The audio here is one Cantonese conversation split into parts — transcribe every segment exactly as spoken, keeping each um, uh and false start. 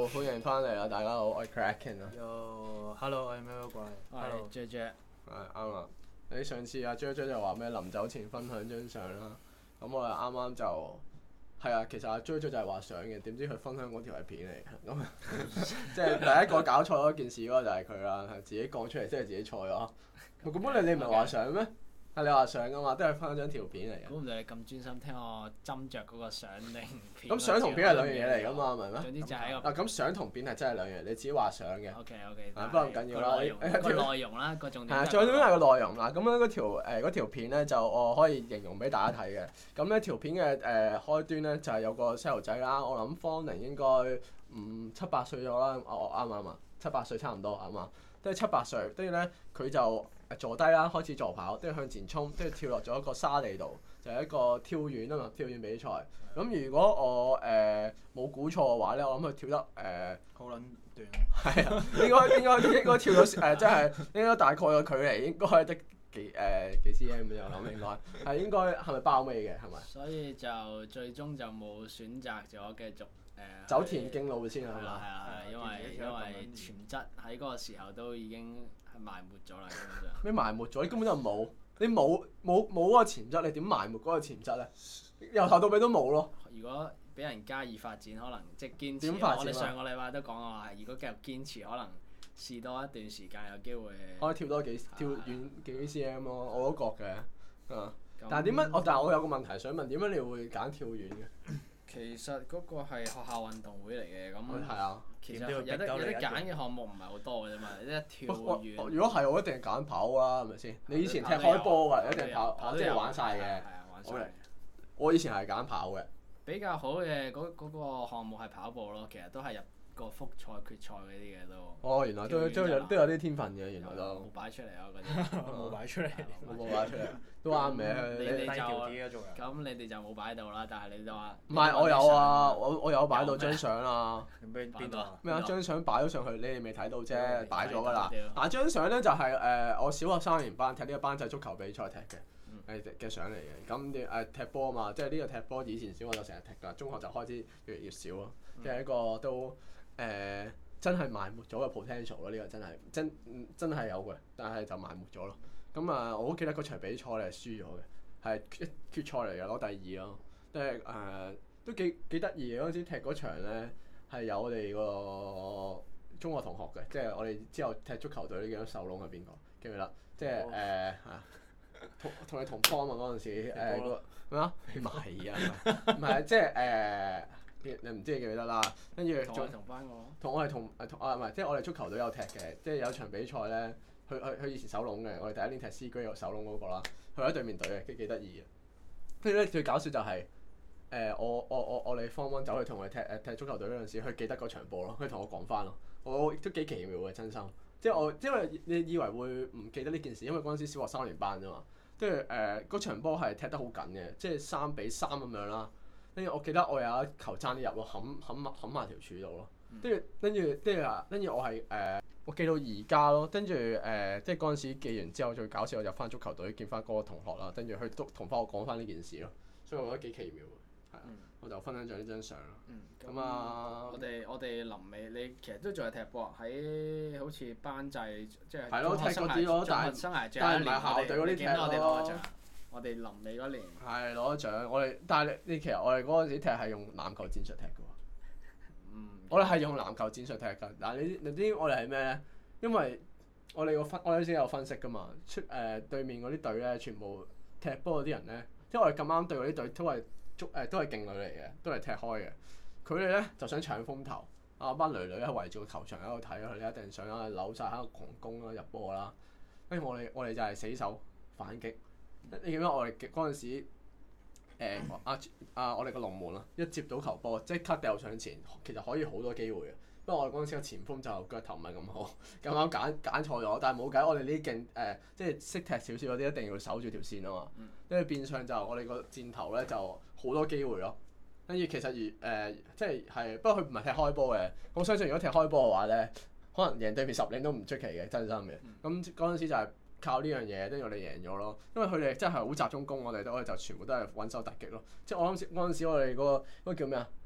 歡迎翻嚟啦！大家好，我係 Kraken 啊。 Yo，hello，我係 Mel 怪。 Hello J J。 係啱啦。你上次阿 J J 就話咩臨走前分享張相啦，咁我哋啱啱就係啊，其實阿 J J 就係話相嘅，點知佢分享嗰條係片嚟，咁即係第一個搞錯嗰件事嗰個就係佢啦，係自己講出嚟，即係自己錯咗。咁本你你唔係話相咩？係你話相噶嘛，都係分享張條片嚟嘅。 估唔到你咁專心聽我斟酌嗰個相定片。 咁相同片係兩樣嘢嚟噶嘛，係咪咩？ 總之就係一個。 啊，咁相同片係真係兩樣，你自己話相嘅。 O K O K。 不過唔緊要啦， 個內容個內容啦，個重點。 係啊，最重要係個內容啦。咁樣嗰條誒嗰條片咧，就我可以形容俾大家睇嘅。咁呢條片嘅誒、呃、開端咧，就係、是、有個細路仔啦。我諗方寧應該五七八歲咗啦。我啱唔啱啊？七八歲差唔多啱嘛？都係七八歲，跟住咧佢就坐低啦，開始助跑，跟住向前衝，跟住跳落咗一個沙地度，就係、是、一個跳遠啊嘛，跳遠比賽。咁如果我誒冇估錯嘅話咧，我諗佢跳得誒好撚短。 係啊，應該應該應該跳到誒，即係應該大概個距離應該得幾誒、呃、幾 cm 咁樣，我諗應該係應該係咪包尾嘅係咪？ 所以就最終就冇選擇咗繼續誒、呃、 走田徑路線係嘛？ 係啊係啊，因為因為潛質喺嗰個時候都已經係埋沒咗啦，基本上。 咩埋沒咗？你根本就冇，你冇冇冇嗰個潛質，你點埋沒嗰個潛質咧？由頭到尾都冇咯。 如果俾人加以發展，可能即係堅持。 點發展啊？ 我哋上個禮拜都講過話，如果繼續堅持，可能試多一段時間有機會。 可以跳多幾跳遠幾 cm 咯，我都覺嘅。啊！ 那但係點解？我但係我有個問題想問，點解你會揀跳遠嘅？ 其實嗰個係學校運動會嚟嘅，咁係啊。 其實有得有得揀嘅項目唔係好多嘅啫嘛，一跳遠。 如果係我一定揀跑啦，係咪先？你以前踢開波㗎，一定跑跑即係玩晒嘅。 係啊，玩晒。 我以前係揀跑嘅。 比較好嘅嗰嗰個項目係跑步咯，其實都係入個複賽決賽嗰啲嘅都。 哦，原來都都有都有啲天分嘅，原來都。 冇擺出嚟啊！嗰啲冇擺出嚟， 冇擺出嚟，都啱嘅。 你哋就咁，你哋就冇擺到啦。但係你就話。 唔係，我有啊！我我有擺到張相啊。 邊邊度啊？ 咩啊？張相擺咗上去，你哋未睇到啫，擺咗㗎啦。但係張相咧就係誒我小學三年班踢呢個班際足球比賽踢嘅。誒嘅相嚟嘅，咁啲誒踢波啊嘛，即係呢個踢波以前小學就成日踢㗎，中學就開始越嚟越少咯，即係、嗯、一個都誒、呃、真係埋沒咗嘅 potential 咯，呢個真係真真係有嘅，但係就埋沒咗咯。咁啊，我好記得嗰場比賽咧係輸咗嘅，係決決賽嚟嘅，攞第二咯，即係誒都幾幾得意嘅。嗰陣時踢嗰場咧係有我哋個中學同學嘅，即係我哋之後踢足球隊呢幾多手窿係邊個記唔記得？即係誒嚇。同同你同方啊嘛嗰陣時，誒個咩啊？唔係啊，唔係即係誒，你唔知你記唔記得啦？跟住同我同班我， 同我係同誒同啊唔係，即係我哋足球隊有踢嘅，即係有場比賽咧，佢佢佢以前手籠嘅，我哋第一年踢 C 區有手籠嗰個啦，佢喺對面隊嘅，幾幾得意嘅。跟住咧最搞笑就係誒我我我我哋方 one 走去同佢踢誒踢足球隊嗰陣時，佢記得嗰場波咯，佢同我講翻咯，我都幾奇妙嘅真心。即係我，因為你以為會唔記得呢件事，因為嗰陣時小學三年班啫嘛。跟住誒嗰場波係踢得好緊嘅，即係三比三咁樣啦。跟住我記得我有一球爭啲入咯，冚冚埋冚埋條柱度咯。跟住跟住跟住啊，跟住我係誒、呃、我記到而家咯。跟住誒即係嗰陣時記完之後，最搞笑我入翻足球隊見翻嗰個同學啦，跟住佢都同翻我講翻呢件事咯。所以我覺得幾奇妙嘅，係啊。嗯、我就分享咗呢張相咯。咁、嗯、啊， 我哋我哋臨尾你其實都仲係踢波喺好似班際即係係咯踢嗰啲咯，但係但係唔係校隊嗰啲踢咯。 我哋臨尾嗰年係攞咗獎，我哋但係你你其實我哋嗰陣時踢係用籃球戰術踢嘅喎。 嗯。 我哋係用籃球戰術踢㗎，但係你你知我哋係咩咧？因為我哋個分我哋先有分析㗎嘛，出誒、呃、對面嗰啲隊咧，全部踢波嗰啲人咧，即係我哋咁啱對嗰啲隊都係足誒都係勁女嚟嘅，都係踢開嘅。佢哋咧就想搶風頭，啊班女女喺圍住個球場喺度睇，佢哋一定想喺度扭晒喺度狂攻啦入波啦。跟住我哋我哋就係死守反擊。你記唔記得我哋嗰陣時誒啊啊我哋個龍門啊，一接到球波即刻掉上前，其實可以好多機會嘅。不過我哋嗰陣時個前鋒就腳頭唔係咁好，咁啱揀揀錯咗。但係冇計，我哋呢啲勁誒即係識踢少少嗰啲，一定要守住條線啊嘛。跟住、嗯、變相就我哋個箭頭咧就好多機會咯。跟住其實如誒、呃、即係係，不過佢唔係踢開波嘅。我相信如果踢開波嘅話咧，可能贏對面十零都唔出奇嘅，真心嘅。咁嗰陣時就係靠呢樣嘢，跟住我哋贏咗咯。因為佢哋真係好集中攻，我哋都就全部都係穩守突擊咯。即係我諗嗰陣時我哋嗰、嗰個嗰、嗰個叫咩啊？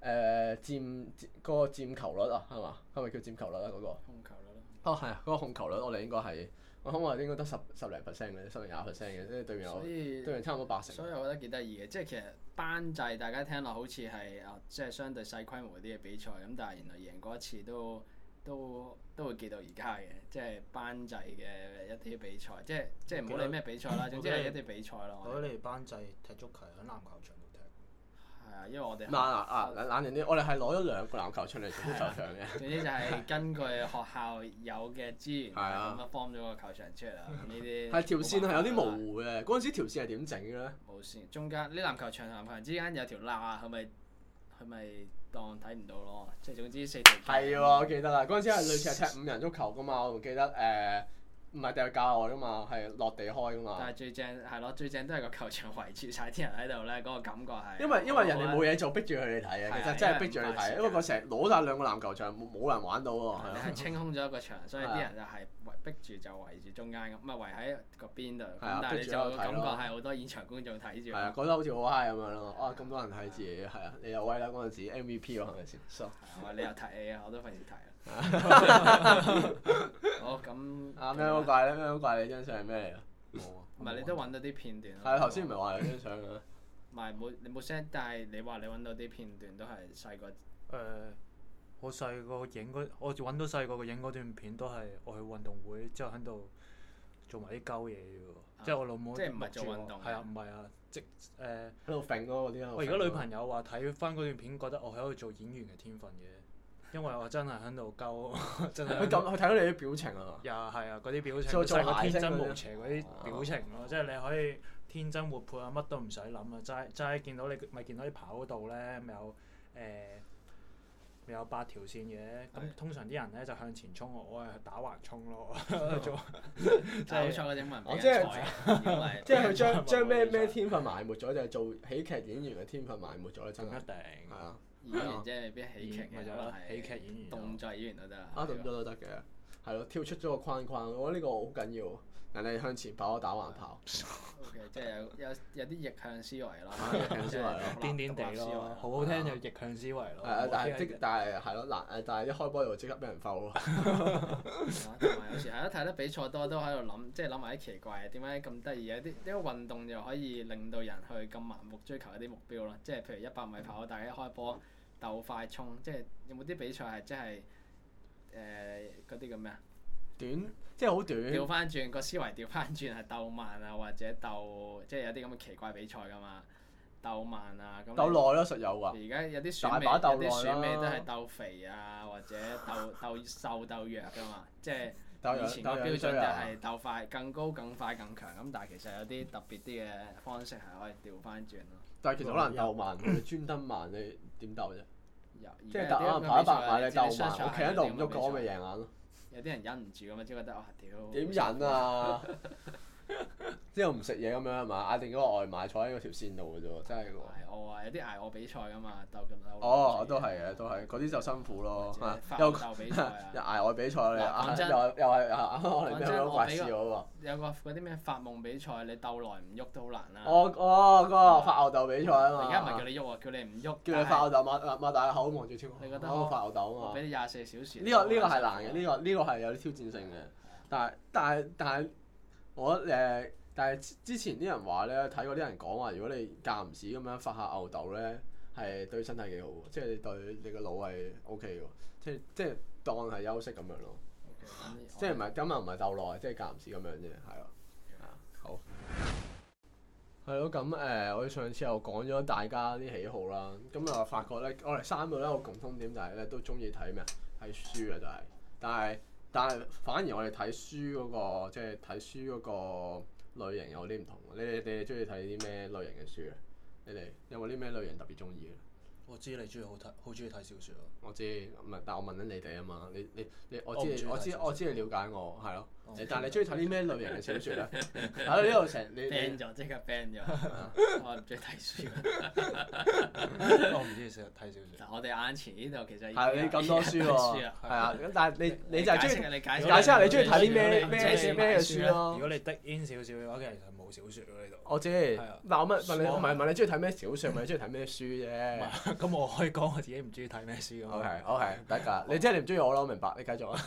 誒佔嗰個佔球率啊，係嘛？係咪叫佔球率啊？嗰個控球率咯。 哦係啊，嗰個控球率我哋應該係我諗我哋應該得十十零 percent 嘅，十零廿 percent 嘅，即係對面有所以對面差唔多八成。 所以我覺得幾得意嘅，即係其實班制大家聽落好似係啊，即係相對細規模啲嘅比賽咁，但係原來贏過一次都都都會記到而家嘅，即係班制嘅一啲比賽，即係即係唔好理咩比賽啦，總之係一啲比賽咯。 我覺得你哋班制踢足球喺籃球場度踢。 係啊，因為我哋嗱嗱啊冷冷靜啲，我哋係攞咗兩個籃球出嚟做足球場嘅。 總之就係根據學校有嘅資源， 係啊咁樣 form 咗個球場出嚟啦。咁呢啲係條線係有啲模糊嘅，嗰陣時條線係點整嘅咧？ 冇線，中間呢籃球場同籃球場之間有條罅，係咪係咪當睇唔到咯？即係總之四條。 係喎，我記得啦，嗰陣時係類似係踢五人足球噶嘛，我仲記得誒。唔係掉教外噶嘛，係落地開噶嘛。 但係最正係咯，最正都係個球場圍住晒啲人喺度咧，嗰、嗰個感覺係。 因為因為人哋冇嘢做，逼住佢哋睇嘅，其實真係逼住你睇，因為佢成日攞晒兩個籃球場，冇冇人玩到喎。 你係清空咗一個場，所以啲人就係圍逼住就圍住中間咁，唔係圍喺個邊度。咁但係你就感覺係好多現場觀眾睇住。 係啊，覺得好似好 high 咁樣咯。啊，咁多人睇自己，係啊，你又威啦嗰陣時 M V P 喎，係咪先？係啊，你又睇 A 啊，我都費事睇啦。好咁。 啊咩好怪咧？咩好怪？你張相係咩嚟啊？ 冇啊。 唔係你都揾到啲片段。 係啊，頭先唔係話有張相嘅。 唔係冇你冇 send，但係你話你揾到啲片段都係細個。 誒，我細個影嗰，我揾到細個嘅影嗰段片都係我去運動會之後喺度做埋啲鳩嘢嘅喎，即係我老母。 即係唔係做運動？ 係啊，唔係啊，即誒。 喺度揈咯嗰啲咯。 我而家女朋友話睇翻嗰段片，覺得我喺度做演員嘅天分嘅。因為我真係喺度鳩，真係。 佢咁，佢睇到你啲表情啊。 又係啊，嗰啲表情， 做做細個天真諧星嗰啲無邪嗰啲表情咯，即係你可以天真活潑啊，乜都唔使諗啊，齋齋見到你咪見到啲跑道咧，咪有誒咪有八條線嘅，咁通常啲人咧就向前衝，我我係打橫衝咯，做。 但係好彩嗰啲文我即係係即係佢將將咩咩天分埋沒咗，就係做喜劇演員嘅天分埋沒咗咧，真係。 一定。 係啊。 演員即係未必喜劇嘅，可能係喜劇演員、 動作演員都得。 啊，動作都得嘅，係咯，跳出咗個框框，我覺得呢個好緊要。人哋向前跑，打橫跑。 O K，即係有有有啲逆向思維咯， 逆向思維咯， 癲癲地咯，好好聽就逆向思維咯。 係啊，但係即但係係咯難誒，但係一開波就即刻俾人摟咯。 同埋有時係咯，睇得比賽多都喺度諗，即係諗埋啲奇怪嘅，點解咁得意嘅？啲呢個運動又可以令到人去咁盲目追求一啲目標咯。即係譬如一百米跑，大家一開波鬥快衝，即係有冇啲比賽係即係誒嗰啲叫咩啊？ 短即係好短。 調翻轉個思維，調翻轉係鬥慢啊，或者鬥即係有啲咁嘅奇怪比賽㗎嘛，鬥慢啊咁。 鬥耐咯，實有㗎。 而家有啲選美，有啲選美都係鬥肥啊，或者鬥鬥瘦鬥弱㗎嘛，即係以前個標準就係鬥快、更高、更快、更強咁，但係其實有啲特別啲嘅方式係可以調翻轉咯。 但係其實好難鬥慢，你專登慢你點鬥啫？即係可可能跑一百米你鬥慢，我企喺度唔喐，我咪贏硬咯。 有啲人忍唔住咁啊，即係覺得哇屌！ 點忍啊？之後唔食嘢咁樣係嘛？嗌定嗰個外賣坐喺嗰條線度嘅啫喎，真係喎。 捱餓啊！有啲捱餓比賽㗎嘛，鬥咁鬥。 哦，都係嘅，都係嗰啲就辛苦咯。 又鬥比賽啊！ 又捱餓比賽你啊！又又係啊！我哋咩都怪事嗰個。 有個嗰啲咩發夢比賽，你鬥耐唔喐都好難啦。 哦哦，嗰個發吽豆比賽啊嘛。 而家唔係叫你喐喎，叫你唔喐。 叫你發吽豆擘擘大個口望住天空。 你覺得我發吽豆啊嘛。 俾你廿四小時。 呢個呢個係難嘅，呢個呢個係有啲挑戰性嘅。但係但係但係我誒。但係之前啲人話咧，睇過啲人講話，如果你間唔時咁樣發下吽豆咧，係對身體幾好喎，即係你對你個腦係 O K 嘅喎，即係即係當係休息咁樣咯。Okay, 即係唔係今日唔係鬥耐，即係間唔時咁樣啫，係咯。Okay. 好。係咯，咁誒、呃，我哋上次又講咗大家啲喜好啦，咁又發覺咧，我哋三個咧有個共通點就係咧，都中意睇咩啊？睇書啊，就係。但係但係反而我哋睇書嗰個，即係睇書嗰個。類型有啲唔同，你哋你哋中意睇啲咩類型嘅書啊？你哋有冇啲咩類型特別中意嘅？ 我知你中意好睇，好中意睇小説啊！ 我知，唔係，但我問緊你哋啊嘛，你你你，我知你，我知我知你了解我，係咯。 但係你中意睇啲咩類型嘅小説咧？喺呢度成你 ban 咗，即刻 ban 咗。我唔中意睇書。 我唔中意成日睇小説。 我哋眼前呢度其實係你咁多書喎，係啊，咁但係你你就係中意你解解釋下你中意睇啲咩你咩咩嘅書咯？ 如果你的 in 少少嘅話，其實冇小説喎呢度。 我知，嗱我問問你，唔係問你中意睇咩小説，問你中意睇咩書啫。 咁我可以講我自己唔中意睇咩書㗎嘛。 OK OK，得㗎。你即係你唔中意我咯，我明白。你繼續啊。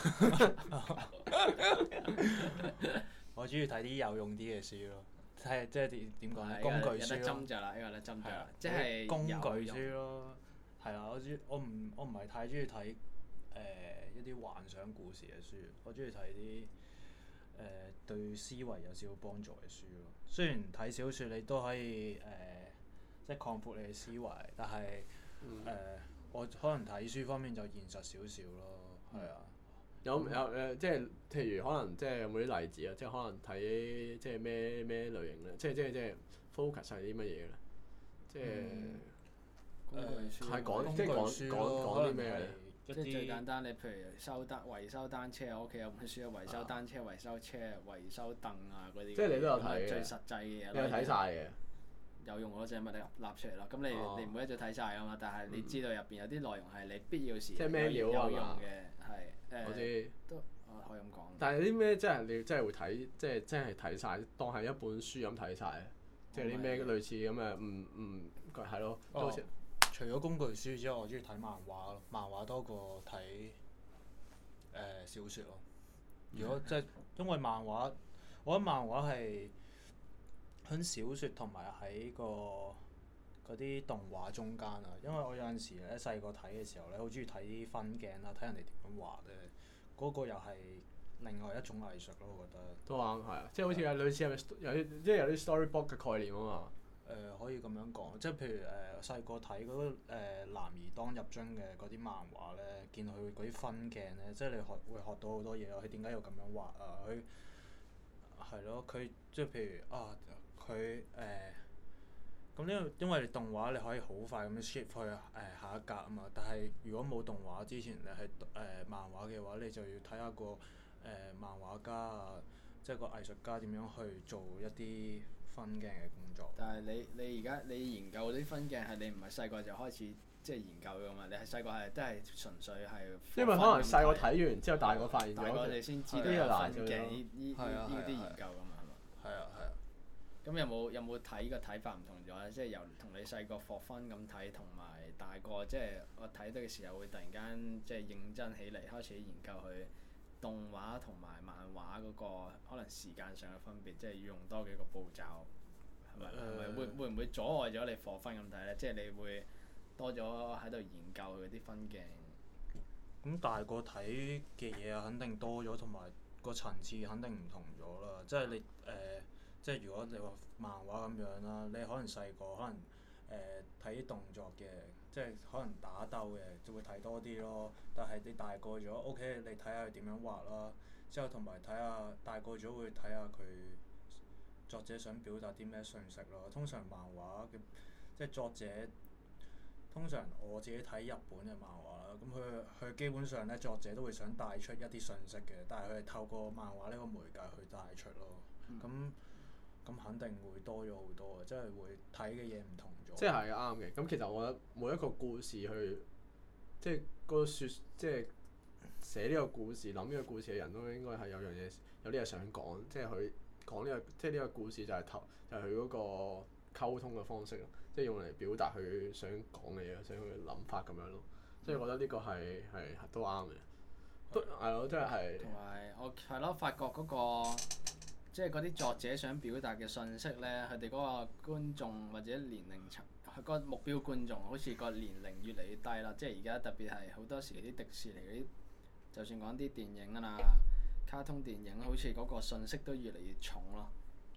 我中意睇啲有用啲嘅書咯，睇即係點點講咧？ 係工具有得書咯， 斟酌啦，呢個咧斟酌啦，即係係工具有書咯。係啊，我中我唔我唔係太中意睇誒一啲幻想故事嘅書，我中意睇啲誒對思維有少少幫助嘅書咯。雖然睇小説你都可以誒、呃、即係擴闊你嘅思維，但係誒、 嗯呃、我可能睇書方面就現實少少咯，係啊。 有有誒，即係譬如可能即係有冇啲例子啊？即係可能睇即係咩咩類型咧？即係即係即係 focus 係啲乜嘢咧？即係工具書係講工即係講具書講咯講啲咩咧？ 一即係最簡啲單，你譬如修單維修單車，我屋企有本書啊，維修單車、維修車、維修凳啊嗰啲。 即係你都有睇嘅最實際嘅嘢。 你有睇晒嘅？ 有用嗰隻咪你立出嚟咯。咁你哦你唔會一早睇晒啊嘛，但係你知道入邊有啲內容係你必要時即係咩料啊有用嘛嘅，係誒。 我知。 都我可以咁講。 但係啲咩真係你真係會睇，即係真係睇晒，當係一本書咁睇晒咧。即係啲咩類似咁嘅，唔唔係咯，都好似。 除咗工具書之外，我中意睇漫畫咯，漫畫多過睇誒、呃、小説咯。如果即係因為漫畫，我覺得漫畫係喺小説同埋喺個嗰啲動畫中間啊。因為我有陣時咧細個睇嘅時候咧，好中意睇啲分鏡啊，睇人哋點樣畫咧，嗰、嗰個又係另外一種藝術咯，我覺得。 都啱係啊，即係好似係類似係咪有啲即係有啲 storybook 嘅概念啊嘛。 誒、呃、可以咁樣講，即係譬如誒細個睇嗰個誒、呃、男兒當入樽嘅嗰啲漫畫咧，見佢嗰啲分鏡咧，即係你學會學到好多嘢啊！佢點解要咁樣畫啊？佢係咯，佢即係譬如啊，佢誒咁呢個因為動畫你可以好快咁樣 shift 去誒、呃、下一格啊嘛，但係如果冇動畫之前你係誒、呃、漫畫嘅話，你就要睇下個誒、呃、漫畫家啊，即係個藝術家點樣去做一啲分鏡嘅工作。 但係你你而家你研究嗰啲分鏡係你唔係細個就開始即係研究㗎嘛？你係細個係都係純粹係。 因為可能細個睇完之後，大個發現咗。 大個你先知道呢個有難咗分鏡呢呢呢呢啲研究㗎嘛係嘛？ 係啊係啊。 咁有冇有冇睇個睇法唔同咗咧？即係由同你細個課分咁睇，同埋大個即係我睇到嘅時候會突然間即係認真起嚟，開始研究佢動畫同埋漫畫嗰個可能時間上嘅分別，即係要用多幾個步驟。係咪？係咪會會唔會阻礙咗你課分咁睇咧？即係你會多咗喺度研究佢啲分鏡。 咁大個睇嘅嘢啊，肯定多咗，同埋個層次肯定唔同咗啦。即係你誒、呃，即係如果你話漫畫咁樣啦，你可能細個可能誒睇啲動作嘅，即係可能打鬥嘅，就會睇多啲咯。但係你大個咗 ，OK，你睇下佢點樣畫啦。之後同埋睇下大個咗會睇下佢作者想表達啲咩訊息咯。通常漫畫嘅即係作者，通常我自己睇日本嘅漫畫啦，咁佢佢基本上咧作者都會想帶出一啲訊息嘅，但係佢係透過漫畫呢個媒介去帶出咯。咁咁、嗯、肯定會多咗好多嘅，即係會睇嘅嘢唔同咗。 即係啱嘅。咁其實我覺得每一個故事去，即係個説，即係寫呢個故事、諗呢個故事嘅人都應該係有樣嘢，有啲嘢想講。即係佢講呢個，即係呢個故事就係頭，就係佢嗰個溝通嘅方式咯。即係用嚟表達佢想講嘅嘢，想佢嘅諗法咁樣咯。所以我覺得呢個係係都啱嘅，都係咯，即係係。 同埋我係咯，發覺嗰個即係嗰啲作者想表達嘅信息咧，佢哋嗰個觀眾或者年齡層，佢個目標觀眾好似個年齡越嚟越低啦。即係而家特別係好多時啲迪士尼嗰啲，就算講啲電影啊、卡通電影，好似嗰個信息都越嚟越重咯。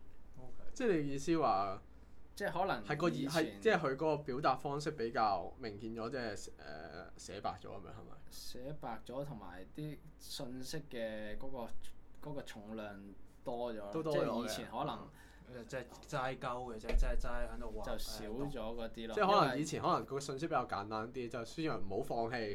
Okay. 即係你意思話？ 即係可能係個以係即係佢嗰個表達方式比較明顯咗，即係誒寫白咗咁樣係咪？ 寫白咗同埋啲信息嘅嗰、嗰個嗰個重量多咗， 都多即係以前可能即係齋鳩嘅啫，即係齋喺度畫。 就少咗嗰啲咯。 即係可能以前可能個信息比較簡單啲，就宣揚唔好放棄，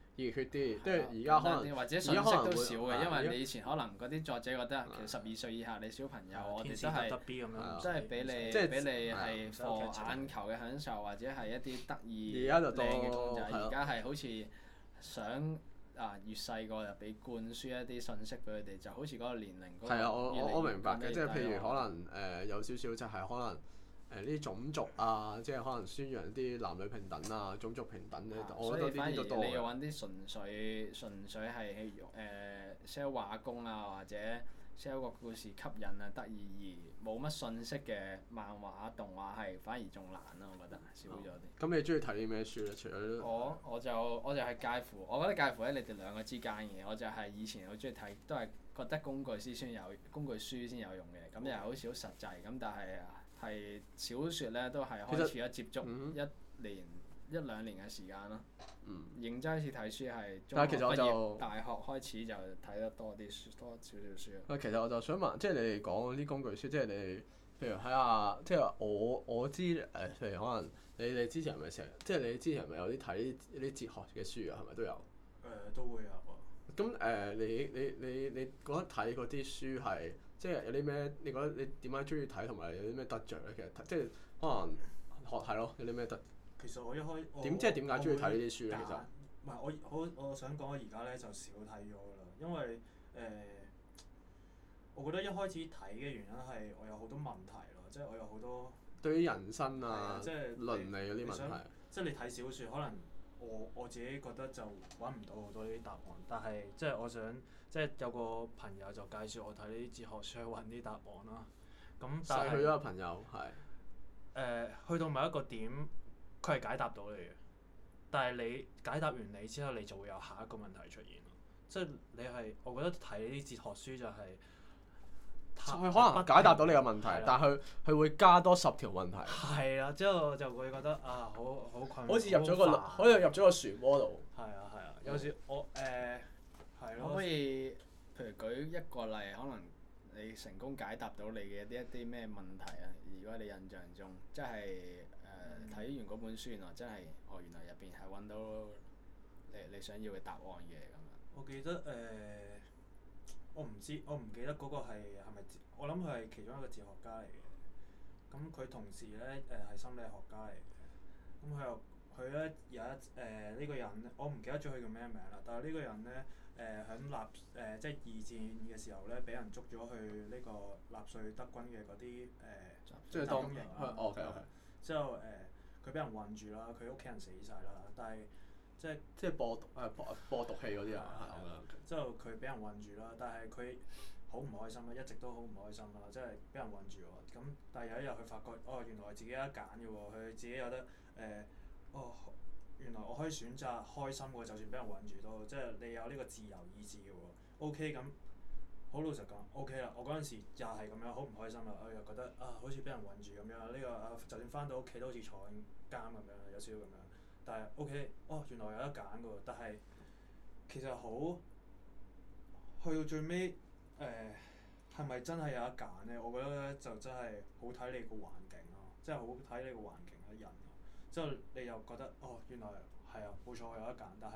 熱血啲，即係而家可能或者信息而家可能會都少嘅，因係而家為你以前可能嗰啲作者覺得其實十二歲以下你小朋友，我哋都係得 B 咁樣， 即係俾你即係俾你係係係課眼球嘅享受，或者係一啲得意而家就多靚嘅公仔。 係咯而家係好似想啊越細個就俾灌輸一啲信息俾佢哋，就好似嗰個年齡嗰個係啊，我越嚟越我我明白嘅， 降低即係譬如低可能誒、呃、有少少就係可能。誒呢啲種族啊，即係可能宣揚啲男女平等啊、種族平等咧， 啊我覺得所以反而呢啲都多嘅。 你要揾啲純粹純粹係誒 sell 畫工啊，或者 sell 個故事吸引啊、得意而冇乜信息嘅漫畫動畫係反而仲難咯，我覺得少咗啲。 咁你中意睇啲咩書咧？除咗我我就我就係介乎，我覺得介乎喺你哋兩個之間嘅。我就係以前好中意睇，都係覺得工具書先有工具書先有用嘅，咁又係好少實際咁，但係係小説咧都係開始咗接觸嗯一年一兩年嘅時間咯。 嗯， 認真開始睇書係中但係其實我就學畢業，大學開始就睇得多啲書，多少少書。 喂，其實我就想問，即係你哋講嗰啲工具書，即係你哋譬如睇下，即係我我知誒、呃，譬如可能你哋之前係咪成日，即係你之前係咪有啲睇啲哲學嘅書啊？係咪都有？ 誒、呃、都會有啊。 咁誒、呃，你你你你覺得睇嗰啲書係即係有啲咩？你覺得你點解中意睇同埋有啲咩得着咧？其實即係可能學係咯，有啲咩得？ 其實我一開點即係點解中意睇呢啲書咧？其實唔係我我我想講，我而家咧就少睇咗㗎啦，因為誒、呃，我覺得一開始睇嘅原因係我有好多問題咯，即係我有好多對於人生啊、 啊即係倫理嗰啲問題。 即係你睇小説，可能我我自己覺得就揾唔到好多呢啲答案，但係即係我想即係有個朋友就介紹我睇呢啲哲學書去揾啲答案啦。咁但係逝去咗個朋友係。 誒，去到某一個點，佢係解答到你嘅，但係你解答完你之後，你就會有下一個問題出現咯。即係你係，我覺得睇呢啲哲學書就係、是， 佢可能解答到你嘅問題， 係啦但係佢佢會加多十條問題。 係啦，之後就會覺得啊，好好困， 好似入咗個好煩好似入咗個漩渦度。 係啊係啊，有時我誒係咯。 可唔可以譬如舉一個例，可能你成功解答到你嘅一啲咩問題啊？如果你印象中，即係誒睇完嗰本書，原來真係哦，原來入邊係揾到你你想要嘅答案嘅咁樣。 我記得誒、呃，我唔知，我唔記得嗰個係係咪？我諗佢係其中一個哲學家嚟嘅。咁佢同時咧誒係心理學家嚟嘅。咁佢又佢咧有一誒呢、呃呢個人，我唔記得咗佢叫咩名啦。但係呢個人咧誒喺納誒即係二戰嘅時候咧，俾人捉咗去呢個納粹德軍嘅嗰啲誒即係當集中營啦。 哦，OK OK。 之後誒，佢俾人困住啦，佢屋企人死晒啦，但係即係即係播毒誒播播毒氣嗰啲啊，係啊。 之後佢俾人困住啦，但係佢好唔開心啦，一直都好唔開心啦，即係俾人困住喎。咁但係有一日佢發覺，哦原來自己有得揀嘅喎，佢自己有得誒、呃，哦原來我可以選擇開心嘅，就算俾人困住都，即係你有呢個自由意志嘅喎。OK 咁，好老實講，OK 啦。我嗰陣時又係咁樣，好唔開心啦。我又覺得啊，好似俾人困住咁樣，呢、這個啊就算翻到屋企都好似坐緊監咁樣，有少少咁樣。但係 OK，哦原來有得揀嘅喎，但係其實好。去到最尾，誒係咪真係有得揀咧？我覺得咧就真係好睇你個環境咯，即係好睇你個環境嘅人咯。之後你又覺得哦，原來係啊，冇錯我有得揀，但係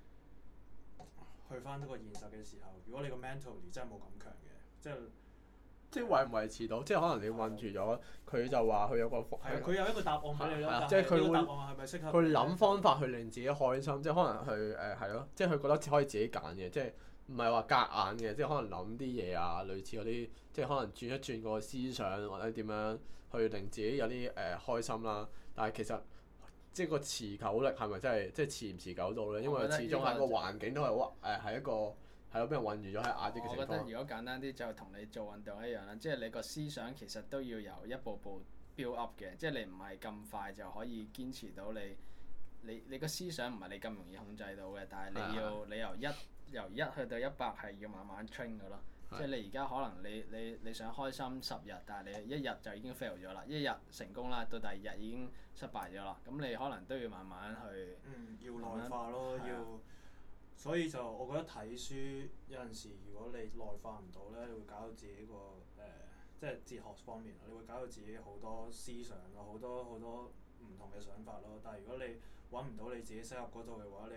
去翻呢個現實嘅時候，如果你個 mentality 真係冇咁強嘅，即係即係維唔維持到，即係可能你困住咗，佢就話佢有個係啊，佢有一個答案俾你啦。 即係佢會答案係咪適合佢諗方法去令自己開心，即係可能佢誒係咯，即係佢覺得可以自己揀嘅，即係。唔係話夾硬嘅，即係可能諗啲嘢啊，類似嗰啲，即係可能轉一轉個思想或者點樣去令自己有啲誒、呃、開心啦。但係其實即係個持久力係咪真係即係持唔持久到咧？因為始終係個環境都係好誒係一個係咯，俾人困住咗喺壓抑嘅情況。 我覺得如果簡單啲就同你做運動一樣啦，即係你個思想其實都要由一步步 build up 嘅，即係你唔係咁快就可以堅持到你你你個思想唔係你咁容易控制到嘅，但係你要你由一由一去到一百係要慢慢 train 㗎咯，即係你而家可能你你你想開心十日，但係你一日就已經 fail 咗啦，一日成功啦，到第二日已經失敗咗啦，咁你可能都要慢慢去。 嗯，要內化咯，要。所以就我覺得睇書有陣時，如果你內化唔到咧，你會搞到自己個誒、呃，即係哲學方面，你會搞到自己好多思想咯，好多好多唔同嘅想法咯。但係如果你揾唔到你自己適合嗰度嘅話，你會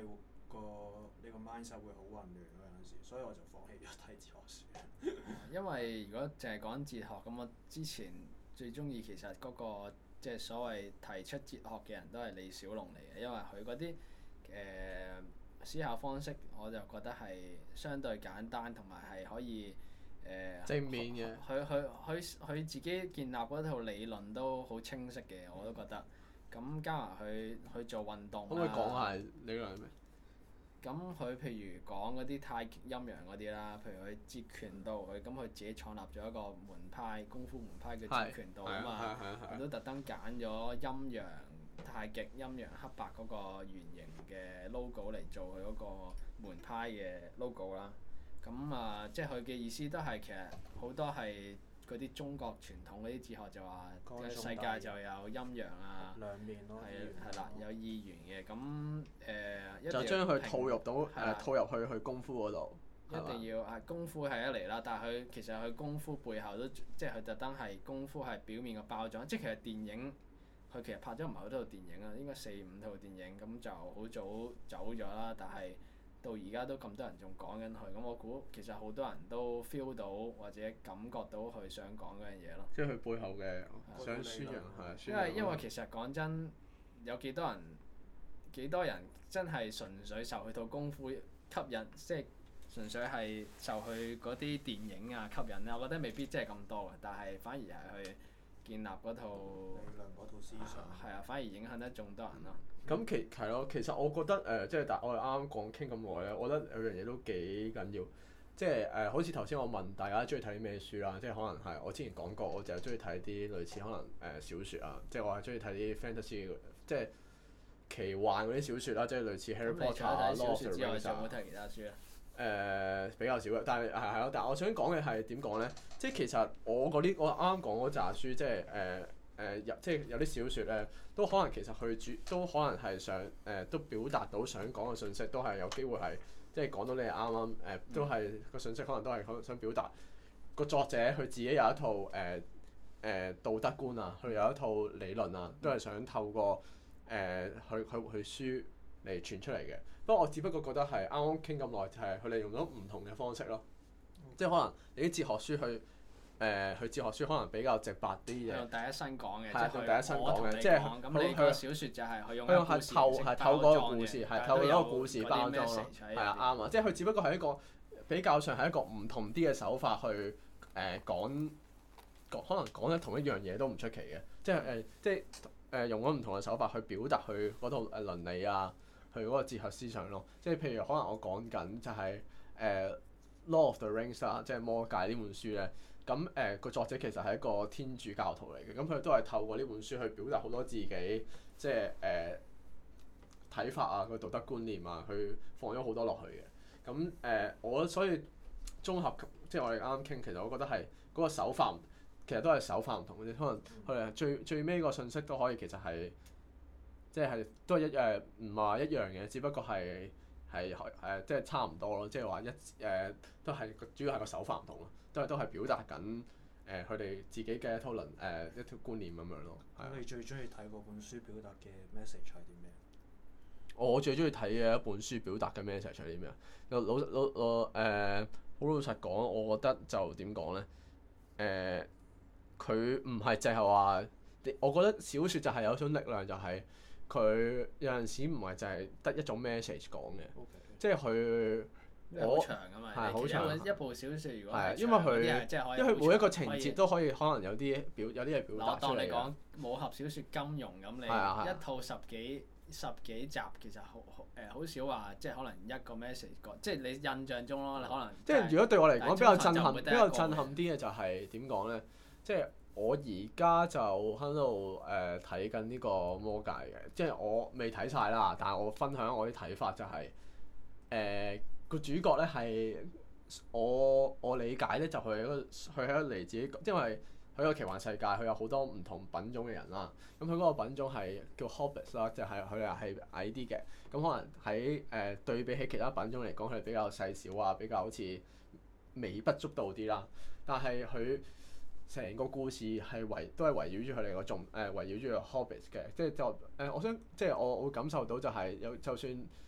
個呢個 mindset 會好混亂咯，有陣時，所以我就放棄咗睇哲學書。 因為如果淨係講哲學，咁我之前最中意其實嗰、個即係所謂提出哲學嘅人都係李小龍嚟嘅，因為佢嗰啲誒思考方式，我就覺得係相對簡單，同埋係可以誒、呃、 正面嘅。 佢佢佢佢自己建立嗰套理論都好清晰嘅，我都覺得。咁加埋佢去做運動可唔可以講下理論係咩？ 咁佢譬如講嗰啲太極陰陽嗰啲啦，譬如佢截拳道，佢咁佢自己創立咗一個門派功夫門派叫截拳道啊嘛，佢都特登揀咗陰陽太極陰陽黑白嗰個圓形嘅 logo 嚟做佢嗰個門派嘅 logo 啦。咁啊，即係佢嘅意思都係其實好多係嗰啲中國傳統嗰啲哲學就話，世界就有陰陽啊， 兩面咯， 係係啦，有二元嘅咁誒，一定就要將佢套入到誒、 係啦套入去去功夫嗰度。 一定要係功夫係一嚟啦，但係佢其實佢功夫背後都即係佢特登係功夫係表面嘅包裝，即係其實電影佢其實拍咗唔係好多套電影啊，應該四五套電影咁就好早走咗啦，但係到而家都咁多人仲講緊佢，咁我估其實好多人都 feel 到或者感覺到佢想講嗰樣嘢咯。 即係佢背後嘅想宣揚係。 因為因為其實講真，有幾多人幾多人真係純粹受佢套功夫吸引，即係純粹係受佢嗰啲電影啊吸引咧，我覺得未必真係咁多嘅，但係反而係去建立嗰套理論嗰套思想。 係啊，反而影響得仲多人咯。 咁其係咯，其實我覺得誒、呃，即係但我哋啱啱講傾咁耐咧，我覺得有樣嘢都幾緊要，即係誒、呃，好似頭先我問大家中意睇啲咩書啦，即係可能係我之前講過，我就係中意睇啲類似可能誒、呃、小説啊，即係我係中意睇啲 fantasy 即係奇幻嗰啲小説啦，即係類似 Harry Potter 啊、 小 Lord of 説 the 之外， Rings 啊。 仲有冇睇其他書啊？ 誒、呃、比較少嘅，但係係係咯，但係我想講嘅係點講咧？即係其實我嗰啲我啱啱講嗰扎書，即係誒誒有即係有啲小説咧，都可能其實佢主都可能係想誒、呃、都表達到想講嘅信息，都係有機會係即係講到你係啱啱誒，都係個信息可能都係可能想表達個作者佢自己有一套誒誒、呃呃、道德觀啊，佢有一套理論啊，都係想透過誒佢佢佢書嚟傳出嚟嘅。不過我只不過覺得係啱啱傾咁耐，就係佢哋用咗唔同嘅方式咯，即係可能你啲哲學書去誒，佢哲學書可能比較直白啲嘅。 用第一身講嘅， 係啊，用第一身講嘅，即係係咁你個小説就係佢用佢用係透係透過個故事，係透過一個故事包裝咯，係啊啱啊，即係佢只不過係一個比較上係一個唔同啲嘅手法去誒、呃、講講，可能講緊同一樣嘢都唔出奇嘅，即係誒、呃、即係誒、呃、用咗唔同嘅手法去表達佢嗰套誒倫理啊。佢嗰個哲學思想咯，即係譬如可能我講緊就係、是、誒、呃《Lord of the Rings》啦，即係魔戒呢本書咧。咁誒個作者其實係一個天主教徒嚟嘅，咁佢都係透過呢本書去表達好多自己即係誒睇法啊、個道德觀念啊，去放咗好多落去嘅。咁誒、呃、我所以綜合即係我哋啱啱傾，其實我覺得係嗰個手法，其實都係手法唔同嘅啫。可能佢哋最最尾個信息都可以其實係。即係都係一誒，唔係話一樣嘅，只不過係係誒，即係差唔多咯。即係話一誒、呃，都係主要係個手法唔同咯，都係都係表達緊誒佢哋自己嘅一套論誒、呃、一條觀念咁樣咯。 咁你最中意睇嗰本書表達嘅 message 係啲咩？ 我最中意睇嘅一本書表達嘅 message 係啲咩啊？老老老老誒，好老實講，我覺得就點講咧？誒，佢唔係淨係話，我覺得小説就係有種力量，就係、是。佢有陣時唔係就係得一種 message 講嘅，Okay. 即係佢好長啊嘛， 係好長。 一部小説如果係因為佢，因為佢每一個情節都可以可能有啲表有啲嘢表達出嚟。 我當你講武俠小説金庸咁，你一套十幾十幾集其實好誒好少話，即係可能一個 message 講，即係你印象中咯，你可能。即係如果對我嚟講比較震撼，比較震撼啲嘅就係點講咧？即係。我而家就喺度誒睇緊呢個魔戒嘅，即係我未睇晒啦，但係我分享我啲睇法就係誒個主角咧係我我理解咧就佢係一個佢係一個嚟自己，因為佢個奇幻世界佢有好多唔同品種嘅人啦，咁佢嗰個品種係叫 Hobbits 啦，就係佢哋係矮啲嘅，咁可能喺誒、呃、對比起其他品種嚟講，佢哋比較細小啊，比較好似微不足道啲啦，但係佢。成個故事係圍都係圍繞住佢哋個重誒圍繞住個 Hobbits 嘅，即係就誒、呃、我想即係我我會感受到就係有就算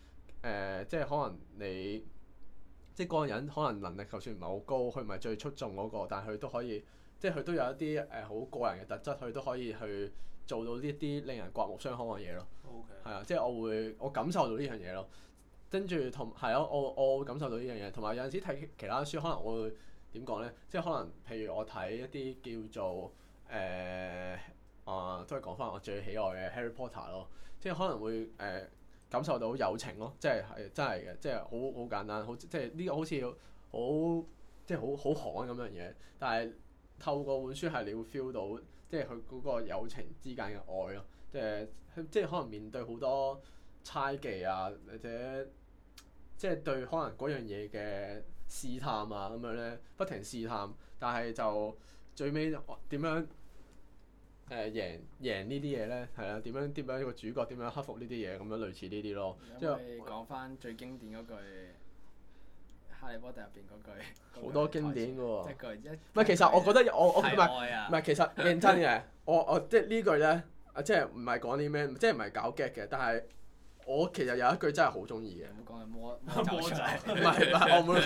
呃，即係可能你即係嗰個人可能能力就算唔係好高，佢唔係最出眾嗰、個，但係佢都可以，即係佢都有一啲誒好個人嘅特質，佢都可以去做到呢一啲令人刮目相看嘅嘢咯。 OK。 係啊，即係我會我感受到呢樣嘢咯。跟住同係咯，我我會感受到呢樣嘢，同埋有陣時睇其他書，可能我會點講咧？即係可能譬如我睇一啲叫做誒。呃啊，都係講翻我最喜愛嘅 Harry Potter 咯，即係可能會誒、呃、感受到友情咯，即係係真係嘅，即係好好簡單，好即係呢個好似好即係好好寒咁樣嘢，但係透過本書係你會 feel 到，即係佢嗰個友情之間嘅愛咯，即係即係可能面對好多猜忌啊，或者即係對可能嗰樣嘢嘅試探啊咁樣咧，不停試探，但係就最尾點樣？誒、呃、贏贏呢啲嘢咧，係啊，點樣點樣一個主角點樣克服呢啲嘢，咁樣類似呢啲咯。 即係講翻最經典嗰句《哈利波特》入邊嗰句， 好多經典嘅喎。 一句一。 唔係，其實我覺得我我唔係係唔係，其實認真嘅，我我即係呢句咧，啊即係唔係講啲咩，即係唔係搞 get 嘅，但係我其實有一句真係好中意嘅。 唔好講係魔魔咒。 唔係唔係，我冇。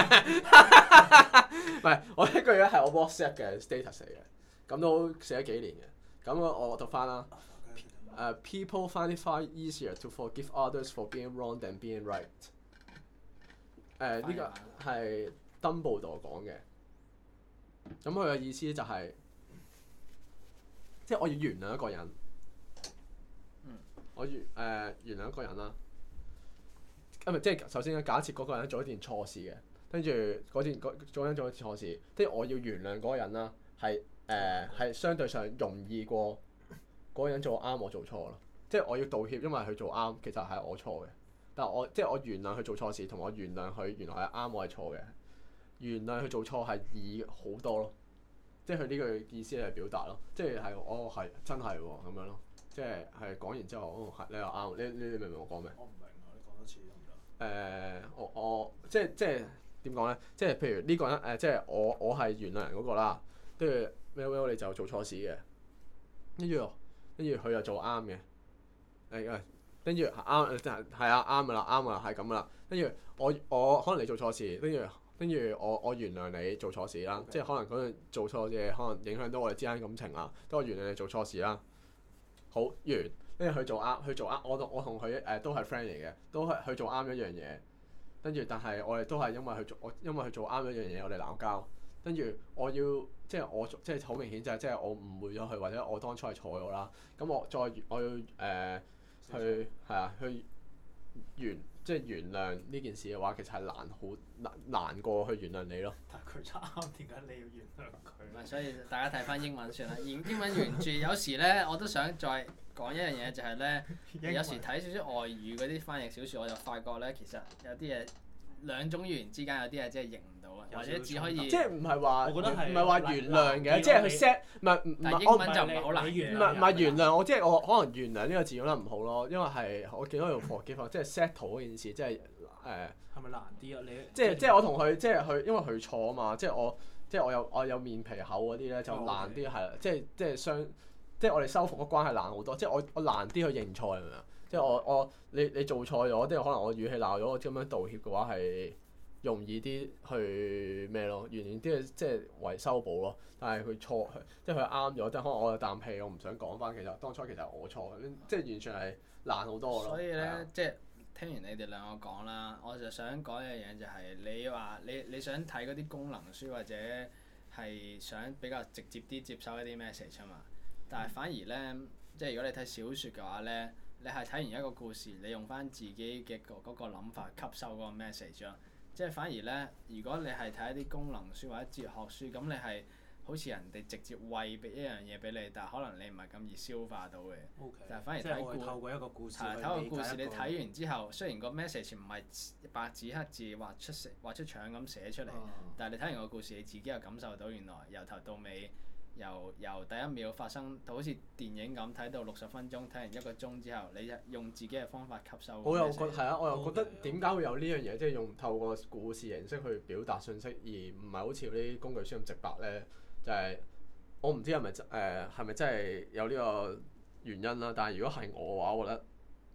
唔係，我呢句咧係我 WhatsApp 嘅 status 嚟嘅。咁都寫咗幾年嘅，咁我我讀翻啦。誒、uh, ，people find it far easier to forgive others for being wrong than being right。誒，呢個係 Dumbledore 講嘅。咁佢嘅意思就係、是，即係我要原諒一個人。 嗯、我原誒、呃、原諒一個人啦。咁咪即係首先假設嗰個人做一件錯事嘅，跟住嗰件嗰嗰個人做一件錯事，即係我要原諒嗰個人啦，係。誒係、呃、相對上容易過嗰個人做啱，我做錯咯。即係我要道歉，因為佢做啱，其實係我錯嘅。但係我即係我原諒佢做錯事，同我原諒佢原來係啱，我係錯嘅。原諒佢做錯係易好多咯。即係佢呢句意思嚟表達咯。即係係哦係真係喎咁樣咯。即係係講完之後，哦係你又啱。你你你明唔明我講咩？ 我唔明啊！你講多次得唔得？ 誒我我即係即係點講咧？即係譬如呢個人誒、呃，即係我我係原諒人嗰個啦，跟住。Well well 你就做錯事嘅，跟住跟住佢又做啱嘅，誒誒，跟住啱就係係啊啱噶啦啱噶啦係咁噶啦，跟住我我可能你做錯事，跟住跟住我我原諒你做錯事啦，Okay. 即係可能嗰樣做錯嘢可能影響到我哋之間感情啦，都我原諒你做錯事啦，好完，跟住佢做啱佢做啱，我同我同佢誒都係 friend 嚟嘅，都係佢做啱一樣嘢，跟住但係我哋都係因為佢做我因為佢做啱一樣嘢，我哋鬧交。跟住我要即係我即係好明顯就係即係我誤會咗佢，或者我當初係錯咗啦。咁我再我要誒、呃、去係啊去原即係原諒呢件事嘅話，其實係難好難難過去原諒你咯。 但係佢啱，點解你要原諒佢？ 唔係，所以大家睇翻英文算啦。英英文原著有時咧，我都想再講一樣嘢，就係、是、咧，文有時睇少少外語嗰啲翻譯小説，我就發覺咧，其實有啲嘢兩種語言之間有啲嘢真係認唔到啊，或者只可以即係唔係話我覺得係唔係話原諒嘅，即係佢 set 唔係唔係我但英文就唔係好難。 唔係唔係原諒我，即係我可能原諒呢個字用得唔好咯，因為係我見到用 forgive 即係 settle 嗰件事，即係誒。 係咪難啲啊？你即係即係我同佢即係佢，因為佢錯啊嘛，即係我即係我有我有面皮厚嗰啲咧就難啲係啦，即係即係相即係我哋修復個關係難好多，即係我我難啲去認錯係咪啊？即係我我你你做錯咗，即係可能我語氣鬧咗，我咁樣道歉嘅話係容易啲去咩咯？完全啲即係為修補咯。但係佢錯，即係佢啱咗，即係可能我有啖氣，我唔想講翻。其實當初其實係我錯，即係完全係難好多咯。 所以咧， 啊、 即係聽完你哋兩個講啦，我就想講一樣嘢，就係你話你你想睇嗰啲功能書或者係想比較直接啲接收一啲 message 啊嘛。但係反而咧，即係如果你睇小説嘅話咧，你係睇完一個故事，你用翻自己嘅嗰嗰個諗法吸收嗰個 message 咯。即係反而咧，如果你係睇一啲功能書或者哲學書，咁你係好似人哋直接餵俾一樣嘢俾你，但係可能你唔係咁易消化到嘅。 Okay, 但係反而即係我係透過一個故事去理解一個。 睇個故事，你睇完之後，雖然個 message 唔係白紙黑字畫出畫出腸咁寫出嚟， 啊、 但係你睇完個故事，你自己又感受到原來由頭到尾，由由第一秒發生到好似電影咁睇到六十分鐘，睇完一個鐘之後，你用自己嘅方法吸收。 我又覺係啊，我又覺得 Okay, 點解會有呢樣嘢，即係用透過故事形式去表達信息，而唔係好似嗰啲工具書咁直白咧？就係、是、我唔知係咪誒係咪真係有呢個原因啦。但係如果係我嘅話，我覺得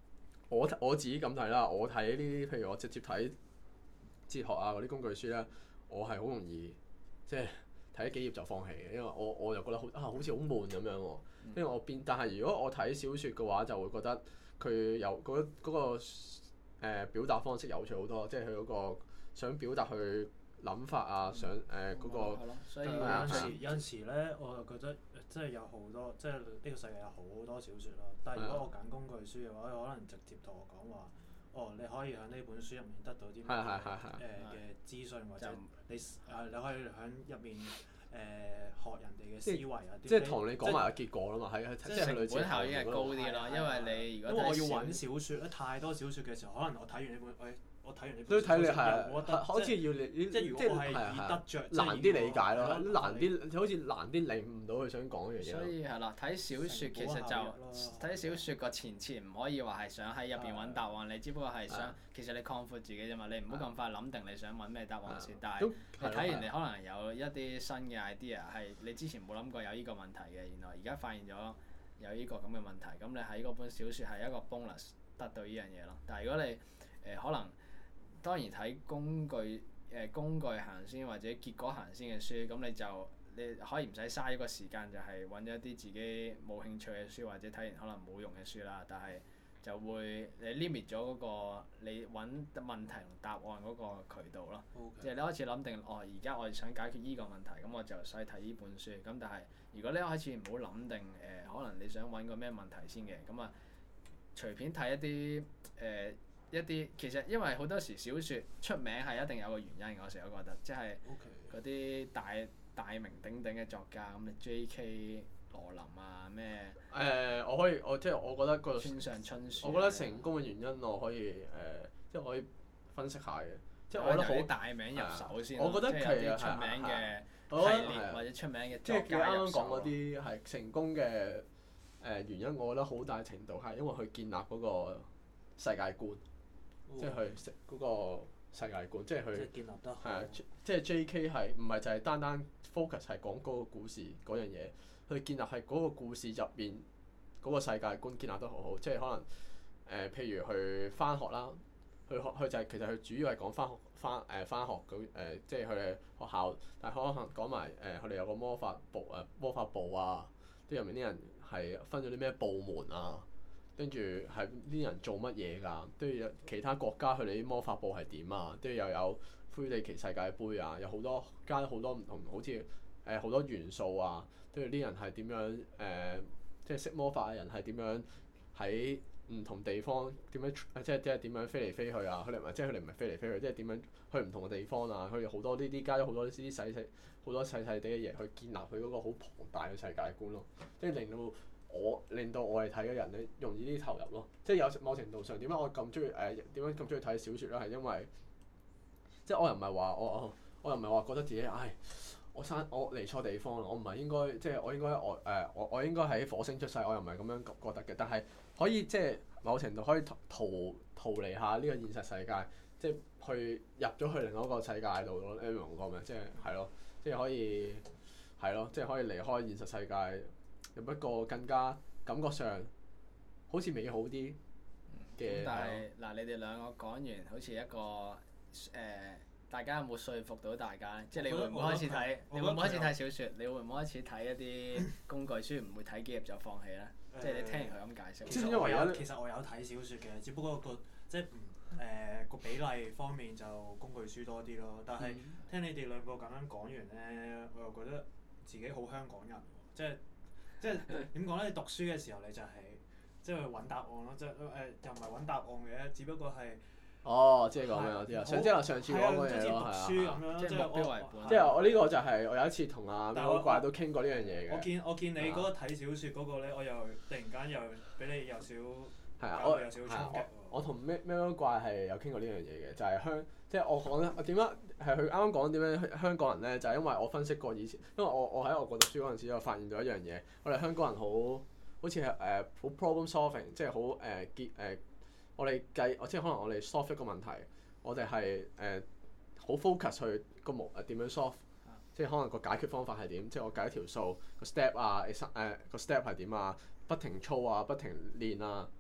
我我自己咁睇啦，我睇呢啲譬如我直接睇哲學啊嗰啲工具書咧，我係好容易即係睇幾頁就放棄嘅，因為我我就覺得好啊好似好悶咁樣喎。因為我變，但係如果我睇小説嘅話，就會覺得佢有嗰嗰、嗰個誒、呃、表達方式有趣好多，即係佢嗰個想表達佢諗法啊，想誒嗰個係咯，所以有係啊陣時有陣時咧，我就覺得即係有好多，即係呢個世界有好多小説啦。但係如果我揀工具書嘅話，佢可能直接同我講話，哦，你可以喺呢本書入面得到啲咩係係係係誒嘅資訊，或者就你誒你可以喺入面誒學人哋嘅思維啊，啲即係同你講埋個結果啦嘛，係係即係成類似本效益係高啲係咯， 係因為你如因為我要果睇小揾小説咧，太多小説嘅時候，可能我睇完呢本，誒我睇完呢本都睇你小説係又冇得係好似要你即係如果我係以得着， 難啲理解咯， 係難啲好似難啲領悟到佢想講嘅嘢所咯。 以係啦，睇小説其實成本效就益咯睇小説個前設唔可以話係想喺入邊揾答案，你只不過係想其實你擴闊自己啫嘛，你唔好咁快諗定你想揾咩答案先。但係都你睇完你可能有一啲新嘅 idea 係你之前冇諗過有呢個問題嘅，原來而家發現咗有呢個咁嘅問題，咁你喺嗰本小説係一個 bonus 得到呢樣嘢咯。但係如果你誒、呃、可能當然睇工具誒、呃、工具行先或者結果行先嘅書，咁你就你可以唔使嘥一個時間，就係揾咗一啲自己冇興趣嘅書，或者睇完可能冇用嘅書啦。但係就會你 limit 咗嗰個你揾問題同答案嗰個渠道咯。即係 Okay. 你開始諗定，哦，而家我想解決依個問題，咁我就使睇呢本書。咁但係如果你一開始唔好諗定誒、呃，可能你想揾個咩問題先嘅，咁啊隨便睇一啲誒。呃一啲其實因為好多時小説出名係一定有個原因，我成日都覺得，即係嗰啲大大名鼎鼎嘅作家，咁你 J K 羅琳啊咩？ 誒、呃，我可以我即係我覺得個， 村上春樹。 我覺得成功嘅原因我可以誒、呃，即係可以分析下嘅。即係我覺得好由啲大名入手先。 我覺得即係有啲出名嘅系列或者出名嘅即係佢作家入啱啱講嗰手。 啲係成功嘅誒、呃、原因，我覺得好大程度係因為佢建立嗰個世界觀。即係佢食嗰個世界觀，即係佢即係建立得好。 係啊，即係 J K 係唔係就係單單 focus 係講嗰個故事嗰樣嘢，佢建立係嗰個故事入邊嗰個世界觀建立得好好，即係可能誒、呃，譬如去翻學啦，佢學佢就係、是、其實佢主要係講翻學翻誒翻學嗰誒、呃，即係佢哋學校，但係可能講埋誒佢哋有個魔法部誒、呃、魔法部啊，啲入面啲人係分咗啲咩部門啊。跟住係啲人做乜嘢㗎？都要有其他國家佢哋啲魔法部係點啊？都要又有魁地奇世界盃啊，有好多加咗好多唔同，好似誒好多元素啊。都要啲人係點樣誒、呃？即係識魔法嘅人係點樣喺唔同地方點樣？即係即係點樣飛嚟飛去啊？佢哋唔係即係佢哋唔係飛嚟飛去，即係點樣去唔同嘅地方啊？佢哋好多呢啲加咗好多呢啲細細好多細細啲嘅嘢去建立佢嗰個好龐大嘅世界觀咯，即係令到。我令到我哋睇嘅人咧容易啲投入咯，即係有某程度上點解我咁中意誒點解咁中意睇小説咧？係因為即係我又唔係話我我我又唔係話覺得自己唉我生我嚟錯地方啦，我唔係應該即係我應該我誒、呃、我我應該喺火星出世，我又唔係咁樣覺得嘅。但係可以即係某程度可以逃逃逃離下呢個現實世界，即係去入咗去另一個世界度咯。你明我講咩？即係係咯，即係可以係咯，即係可以離開現實世界。有一個更加感覺上好似美好啲嘅。 但係嗱，你哋兩個講完，好似一個誒、呃，大家有冇說服到大家咧？即係你會唔會開始睇？你會唔會開始睇小説？你會唔會開始睇一啲工具書？唔會睇幾頁就放棄咧？即係你聽完佢咁解釋。 其實我有其實我有睇小説嘅，只不過個即係唔誒個比例方面就工具書多啲咯。但係聽你哋兩個咁樣講完咧，我又覺得自己好香港人，即係。即係點講咧？你讀書嘅時候你就係、是、即係去揾答案咯，即係誒又唔係揾答案嘅，只不過係哦，即係講咩我知啊，上即係上次講嗰嘢咯，係啊， 即係目標為本。 即係我呢個就係我有一次同阿魔怪都傾過呢樣嘢嘅。 我見我見你嗰個睇小説嗰個咧，我又突然間又俾你有少係啊，我有少衝擊喎。 我同咩咩魔怪係有傾過呢樣嘢嘅，就係、是、香即係我講咧，我點解係佢啱啱講點樣香港人咧？就係、是、因為我分析過以前，因為我我喺外國讀書嗰陣時，我發現咗一樣嘢，我哋香港人好好似係誒好 problem solving，即係好誒結誒，我哋計即係可能我哋 solve 一個問題，我哋係誒好 focus 去個模誒點樣 solve，即係可能個解決方法係點，即係我計一條數個 step 啊，誒誒個 step 係點啊，不停操啊，不停練啊。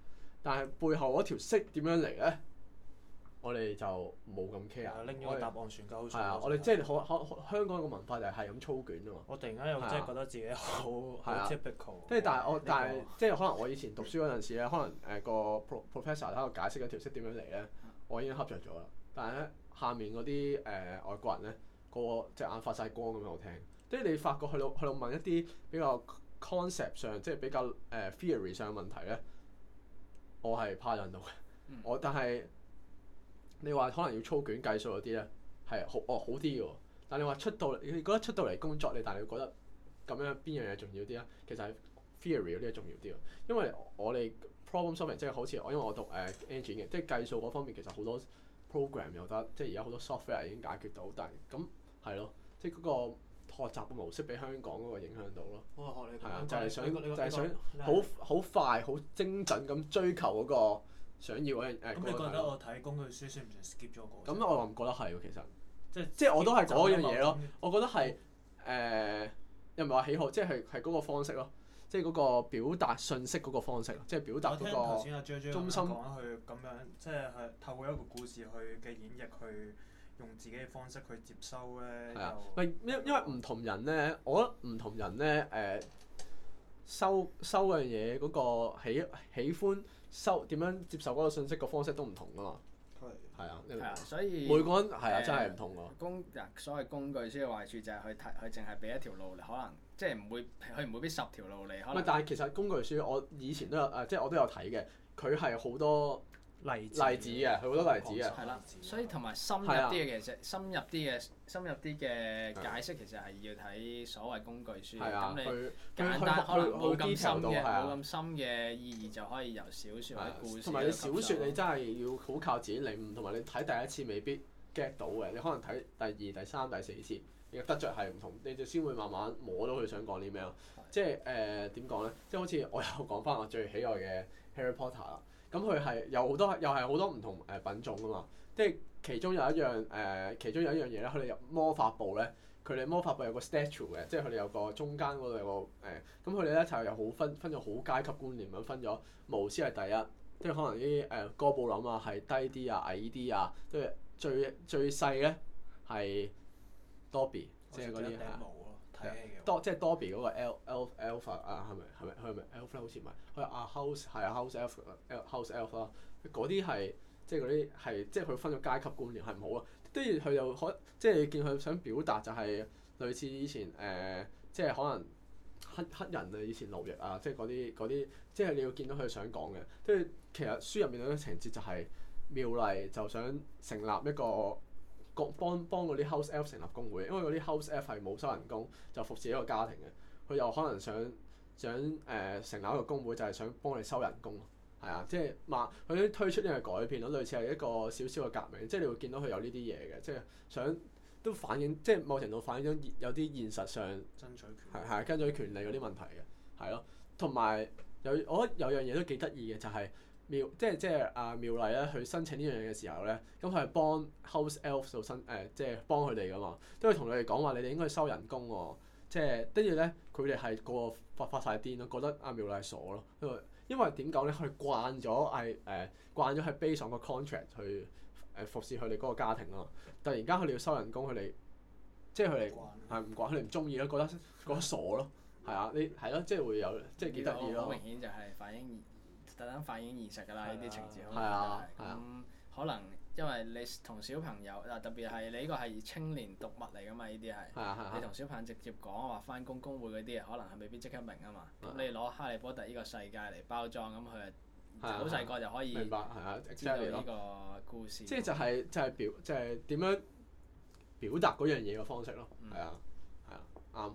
但係背後嗰條色點樣嚟咧？我哋就冇咁 care。 拎咗個答案傳鳩係啊，我哋即係可可香港個文化就係係咁操卷啊嘛。 我突然間又真係覺得自己好好 typical。 即係但係我但係即係可能我以前讀書嗰陣時咧，可能誒個 pro professor 喺度解釋嗰條色點樣嚟咧，我已經恰着咗啦。但係咧下面嗰啲誒外國人咧，個個隻眼發晒光咁樣我聽。即係你發覺去到去到問一啲比較 concept 上，即係比較誒、呃、theory 上嘅問題咧，我係趴人到嘅。 嗯、 我但係你話可能要操卷計數嗰啲咧，係好哦好啲嘅喎。但係你話出到嚟，你覺得出到嚟工作你，但係你覺得咁樣邊樣嘢重要啲咧？其實係 theory 嗰啲係重要啲喎。因為我哋 problem solving 即係好似我因為我讀誒、呃、engine 嘅，即係計數嗰方面其實好多 program 又得，即係而家好多 software 已經解決到。但係咁係咯，即係嗰個學習嘅模式俾香港嗰個影響到咯。 我學你係啊，就係想就係想好好好快好精準咁追求嗰個想要嗰樣誒。 咁你覺得我睇工具書算唔算 skip 咗個？ 咁我唔覺得係喎，其實即係即係我都係嗰樣嘢咯。我覺得係誒、呃、又唔係話喜好，即係係嗰個方式咯，即係嗰個表達信息嗰個方式咯，即係表達嗰個中心。 我聽頭先阿 J J 講佢咁樣，即係係透過一個故事去嘅演繹去。用自己嘅方式去接收咧， 係啊，唔係因因為唔同人咧，我覺得唔同人咧誒、呃、收收嗰樣嘢嗰個喜喜歡收點樣接受嗰個信息個方式都唔同噶嘛。係係啊， 係啊，所以每個人係啊，真係唔同喎。 工嗱所謂工具書嘅壞處就係佢睇佢淨係俾一條路嚟，可能即係唔會佢唔會俾十條路嚟。可能但係其實工具書我以前都有誒，即係我都有睇嘅，佢係好多例子例子嘅，佢好多例子嘅。 係啦，所以同埋深入啲嘅其實深入啲嘅深入啲嘅解釋其實係要睇所謂工具書。咁你簡單可能冇咁深嘅冇咁深嘅意義就可以由小説或者故事。 同埋你小説你真係要好靠自己領悟，同埋你睇第一次未必 get 到嘅，你可能睇第二、第三、第四次，你嘅得着係唔同，你就先會慢慢摸到佢想講啲咩咯。即係誒點講咧？即係好似我又講翻我最喜愛嘅 Harry Potter 啦。咁佢係有好多，又係好多唔同誒品種噶嘛。即係其中有一樣誒、呃，其中有一樣嘢咧，佢哋入魔法部咧，佢哋魔法部有個 statue 嘅，即係佢哋有個中間嗰度有個誒，咁佢哋咧就有好分分咗好階級觀念咁分咗，巫師係第一，即係可能啲誒哥布林啊係低啲啊矮啲啊，即係最最細咧係 Dobby，即係嗰啲係。多即係 Dobby 嗰個 Elf Elf Elf 啊，係咪係咪佢係咪 Elf 咧？好似唔係，佢啊 House 係啊 House Elf House Elf 啦。嗰啲係即係嗰啲係即係佢分咗階級觀念係唔好啊。跟住佢又可即係你見佢想表達就係類似以前誒、呃，即係可能黑黑人啊，以前奴役啊，即係嗰啲嗰啲，即係你要見到佢想講嘅。跟住其實書入面有啲情節就係妙麗就想成立一個。幫幫嗰啲 house elf 成立工會，因為嗰啲 house elf 係冇收人工，就服侍一個家庭嘅。佢又可能想想誒、呃、成立一個工會，就係想幫你收人工。係啊，即係嘛，佢都推出呢個改變咯，類似係一個少少嘅革命。即係你會見到佢有呢啲嘢嘅，即係想都反映，即係某程度反映咗有啲現實上爭取權係係爭取權利嗰啲問題嘅，係咯。同埋有我覺得有樣嘢都幾得意嘅就係、是。妙即係即係阿妙麗咧，去申請呢樣嘢嘅時候咧，咁佢係幫 House Elf 做申誒、呃，即係幫佢哋噶嘛，都會同佢哋講話，你哋應該收人工喎、哦。即係跟住咧，佢哋係個個發發曬癲咯，覺得阿妙麗係傻咯。因為因為點講咧？佢慣咗係誒慣咗係 base on 個 contract 去誒、呃、服侍佢哋嗰個家庭啊嘛。突然間佢哋要收人工，佢哋即係佢哋係唔慣，佢哋唔中意咯，覺得覺得傻咯。係啊，你係咯，即係會有即係幾得意咯。 好明顯就係反映。特登反映現實㗎啦，呢啲情節係啊， 咁、嗯、可能因為你同小朋友嗱，特別係你呢個係青年讀物嚟㗎嘛，呢啲係你同小朋友直接講話返工工會嗰啲嘢，可能係未必即刻明啊嘛。咁、啊、你攞哈利波特呢個世界嚟包裝，咁佢好細個就可以明白係啊， 知道呢個故事。 即係就係就係表就係點樣表達嗰樣嘢嘅方式咯。係啊係啊啱。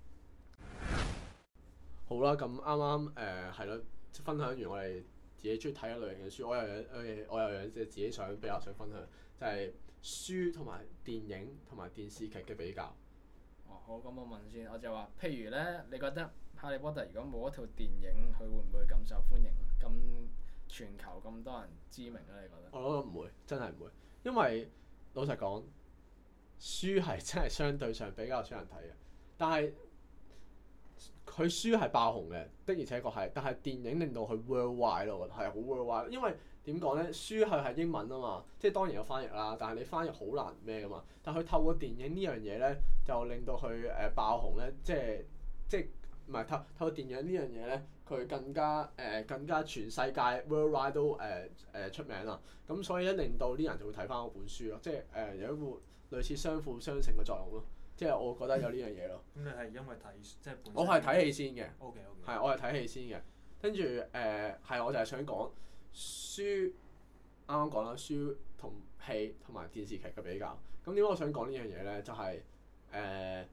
好啦，咁啱啱誒係咯。分享完我哋自己中意睇嘅類型嘅書，我又有我又有即係自己想比較想分享，就係、是、書同埋電影同埋電視劇嘅比較。 哦，好，咁我問先，我就話，譬如咧，你覺得《哈利波特》如果冇一套電影，佢會唔會咁受歡迎？咁全球咁多人知名咧？你覺得？ 我覺得唔會，真係唔會，因為老實講，書係真係相對上比較少人睇嘅，但係佢書係爆紅嘅，的而且確係，但係電影令到佢 worldwide 咯，我覺得係好 worldwide，因為點講咧？書係係英文啊嘛，即係當然有翻譯啦，但係你翻譯好難咩噶嘛。但係佢透過電影呢樣嘢咧，就令到佢誒、呃、爆紅咧，即係即係唔係透透過電影呢樣嘢咧，佢更加誒、呃、更加全世界 worldwide 都誒誒、呃呃、出名啦。咁所以咧令到啲人就會睇翻嗰本書咯，即係誒、呃、有一個類似相輔相成嘅作用咯。即係我覺得有呢樣嘢咯。 咁你係因為睇即係本身我係睇戲先嘅。 O K O K。 係，我係睇戲先嘅。跟住誒係，我就係想講書，啱啱講啦，書同戲同埋電視劇嘅比較。咁點解我想講呢樣嘢咧？就係、是、誒、呃、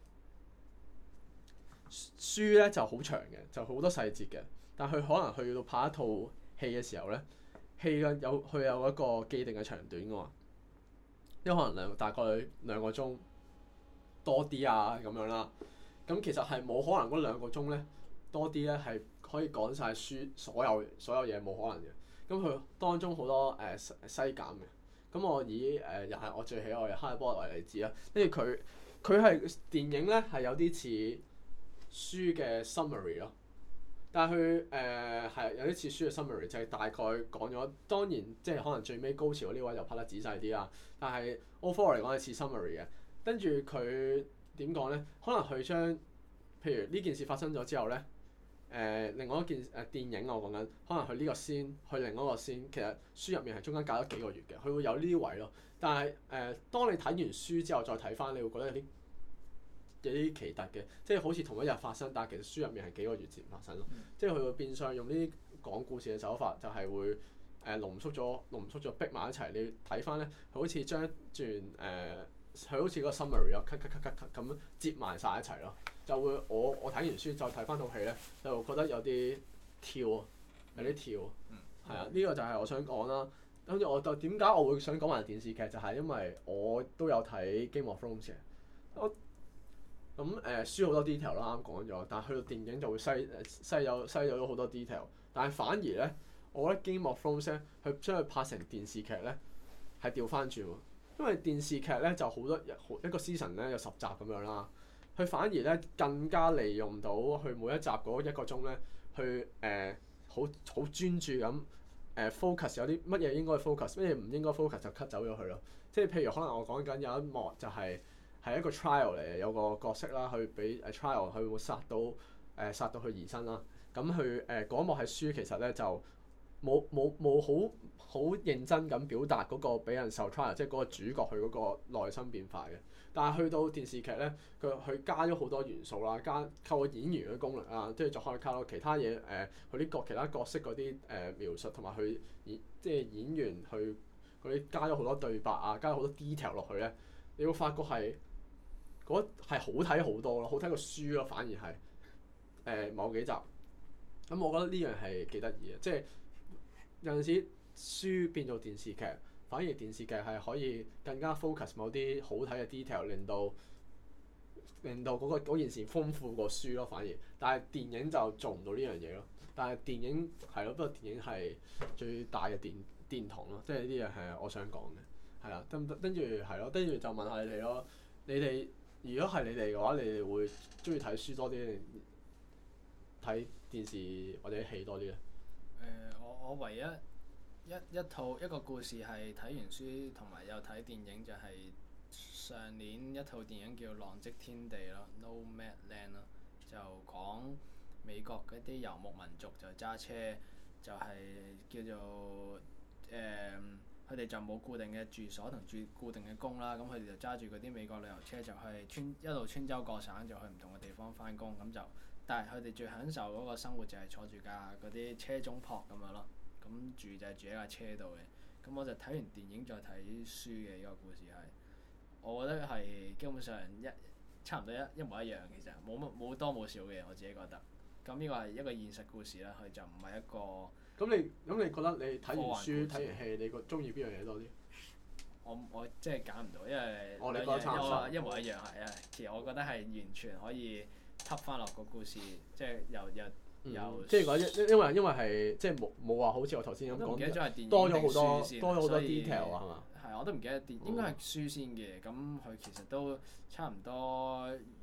書咧就好長嘅，就好多細節嘅。但係佢可能去到拍一套戲嘅時候咧，戲嘅有佢有一個既定嘅長短㗎嘛。因為可能兩大概兩個鐘多啲啊咁樣啦。咁其實係冇可能嗰兩個鐘咧多啲咧係可以講晒書所有所有嘢，冇可能嘅。咁佢當中好多誒、呃、西減嘅。咁我以誒、呃、又係我最喜愛嘅《哈利波特》為例子啦。跟住佢佢係電影咧係有啲似書嘅 summary 咯，但係佢誒係有啲似書嘅 summary，就係大概講咗。當然即係可能最尾高潮嗰啲位就拍得仔細啲啦。但係 overall 嚟講係似 summary 嘅。跟住佢點講咧？可能佢將譬如呢件事發生咗之後咧，誒、呃、另外一件誒、呃、電影我講緊，可能佢呢個先去另一個先，其實書入面係中間隔咗幾個月嘅，佢會有呢啲位咯。但係誒、呃，當你睇完書之後再睇翻，你會覺得有啲有啲奇特嘅，即係好似同一日發生，但係其實書入面係幾個月前發生咯。嗯、即係佢會變相用呢啲講故事嘅手法，就係會誒、呃、濃縮咗濃縮咗逼埋一齊。你睇翻咧，佢好似將一段誒。呃佢好似嗰個 summary 咯，cut cut cut cut cut 咁接埋晒一齊咯，就會我我睇完書再睇翻套戲咧，就覺得有啲跳，有啲跳，係啊、嗯，呢、呢個就係我想講啦。跟住我就點解我會想講埋電視劇，就係、係、因為我都有睇 Game of Thrones 嘅。我咁誒、呃、書好多 detail 啦，啱講咗，但係去到電影就會篩誒篩有篩咗好多 detail，但係反而咧，我覺得 Game of Thrones 咧，佢將佢拍成電視劇咧，係調翻轉喎。因為電視劇咧就好多一個 season 咧有十集咁樣啦，佢反而咧更加利用到佢每一集嗰一個鐘咧，去誒好好專注咁誒、呃、focus 有啲乜嘢應該 focus，乜嘢唔應該 focus 就 cut 走咗佢咯。即係譬如可能我講緊有一幕就係、是、係一個 trial 嚟嘅，有個角色啦，去俾誒 trial 佢會殺到誒、呃、殺到佢兒身啦。咁佢誒嗰幕係書其實咧就冇冇冇好。好認真咁表達嗰個俾人受 trial，即係嗰個主角佢嗰個內心變化嘅。但係去到電視劇咧，佢佢加咗好多元素啦，加透過演員嘅功力啊，即係再可以靠到其他嘢誒，佢啲角其他角色嗰啲誒描述同埋佢演即係演員去嗰啲加咗好多對白啊，加咗好多 detail 落去咧，你會發覺係嗰係好睇好多咯，好睇過書咯，反而係誒、呃、某幾集。咁我覺得呢樣係幾得意嘅，即係有陣時。書變做電視劇，反而電視劇係可以更加 focus 某啲好睇嘅 detail，令到令到嗰、嗰個、件事豐富過書咯。反而，但係電影就做唔到呢樣嘢咯。但係電影係咯，不過電影係最大嘅殿殿堂咯，即係呢啲嘢係我想講嘅，係啦。跟跟住係咯，跟住就問下你哋咯。你哋如果係你哋嘅話，你哋會中意睇書多啲定睇電視或者戲多啲咧？誒、 呃，我我唯一。一一套一個故事係睇完書同埋有睇電影，就係上年一套電影叫《浪跡天地》咯 ，Nomadland 咯，就講美國嗰啲遊牧民族就揸車，就係、是、叫做誒，佢、呃、哋就冇固定嘅住所同住固定嘅工啦，咁佢哋就揸住嗰啲美國旅遊車就去穿一路穿州過省，就去唔同嘅地方返工，咁就但係佢哋最享受嗰個生活就係坐住架嗰啲車中泊咁樣咯。咁住就係住喺架車度嘅，咁我就睇完電影再睇書嘅呢個故事係，我覺得係基本上一差唔多一一模一樣，其實冇乜冇多冇少嘅，我自己覺得。咁呢個係一個現實故事啦，佢就唔係一個。咁你咁你覺得你睇完書睇完戲，你個中意邊樣嘢多啲？ 我我即係揀唔到，因為我哋覺得差唔多， 一模一樣係啊。其實我覺得係完全可以吸翻落個故事，即係由由。 嗯、 有即係講因因為因為係即係冇冇話好似我頭先咁講，多咗好多多咗好多 detail 啊，係嘛？ 係我都唔記得電應該係書先嘅，咁佢其實都差唔多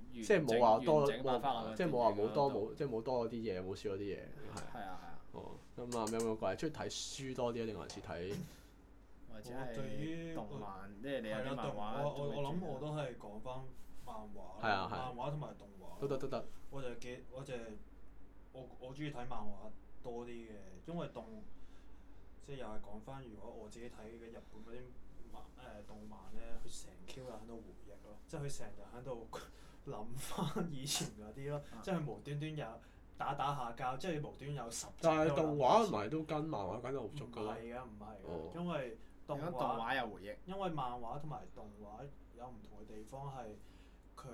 即即係冇話多整冇翻落去即係冇話冇多電影嗰度冇即係冇多嗰啲嘢，冇少嗰啲嘢係。 係啊係啊， 哦，咁啊有冇個係中意睇書多啲啊，定還是睇？ 或者我對於係動漫，即係你有係啦， 啲漫動畫我我我諗都會我都係講翻漫畫係啊係漫畫同埋動畫。 都得都得。 我就記我就係我我中意睇漫畫多啲嘅，因為動即係又係講翻，如果我自己睇嘅日本嗰啲漫誒動漫咧，佢成 Q 日喺度回憶咯，即係佢成日喺度諗翻以前嗰啲咯， 啊即係佢無端端有打打下交，即係無端有十集但係都有動畫唔係都跟漫畫跟得好唔足㗎啦。 係㗎，唔係哦㗎，因為動如果動畫畫有回憶， 因為漫畫同埋動畫有唔同嘅地方係佢誒，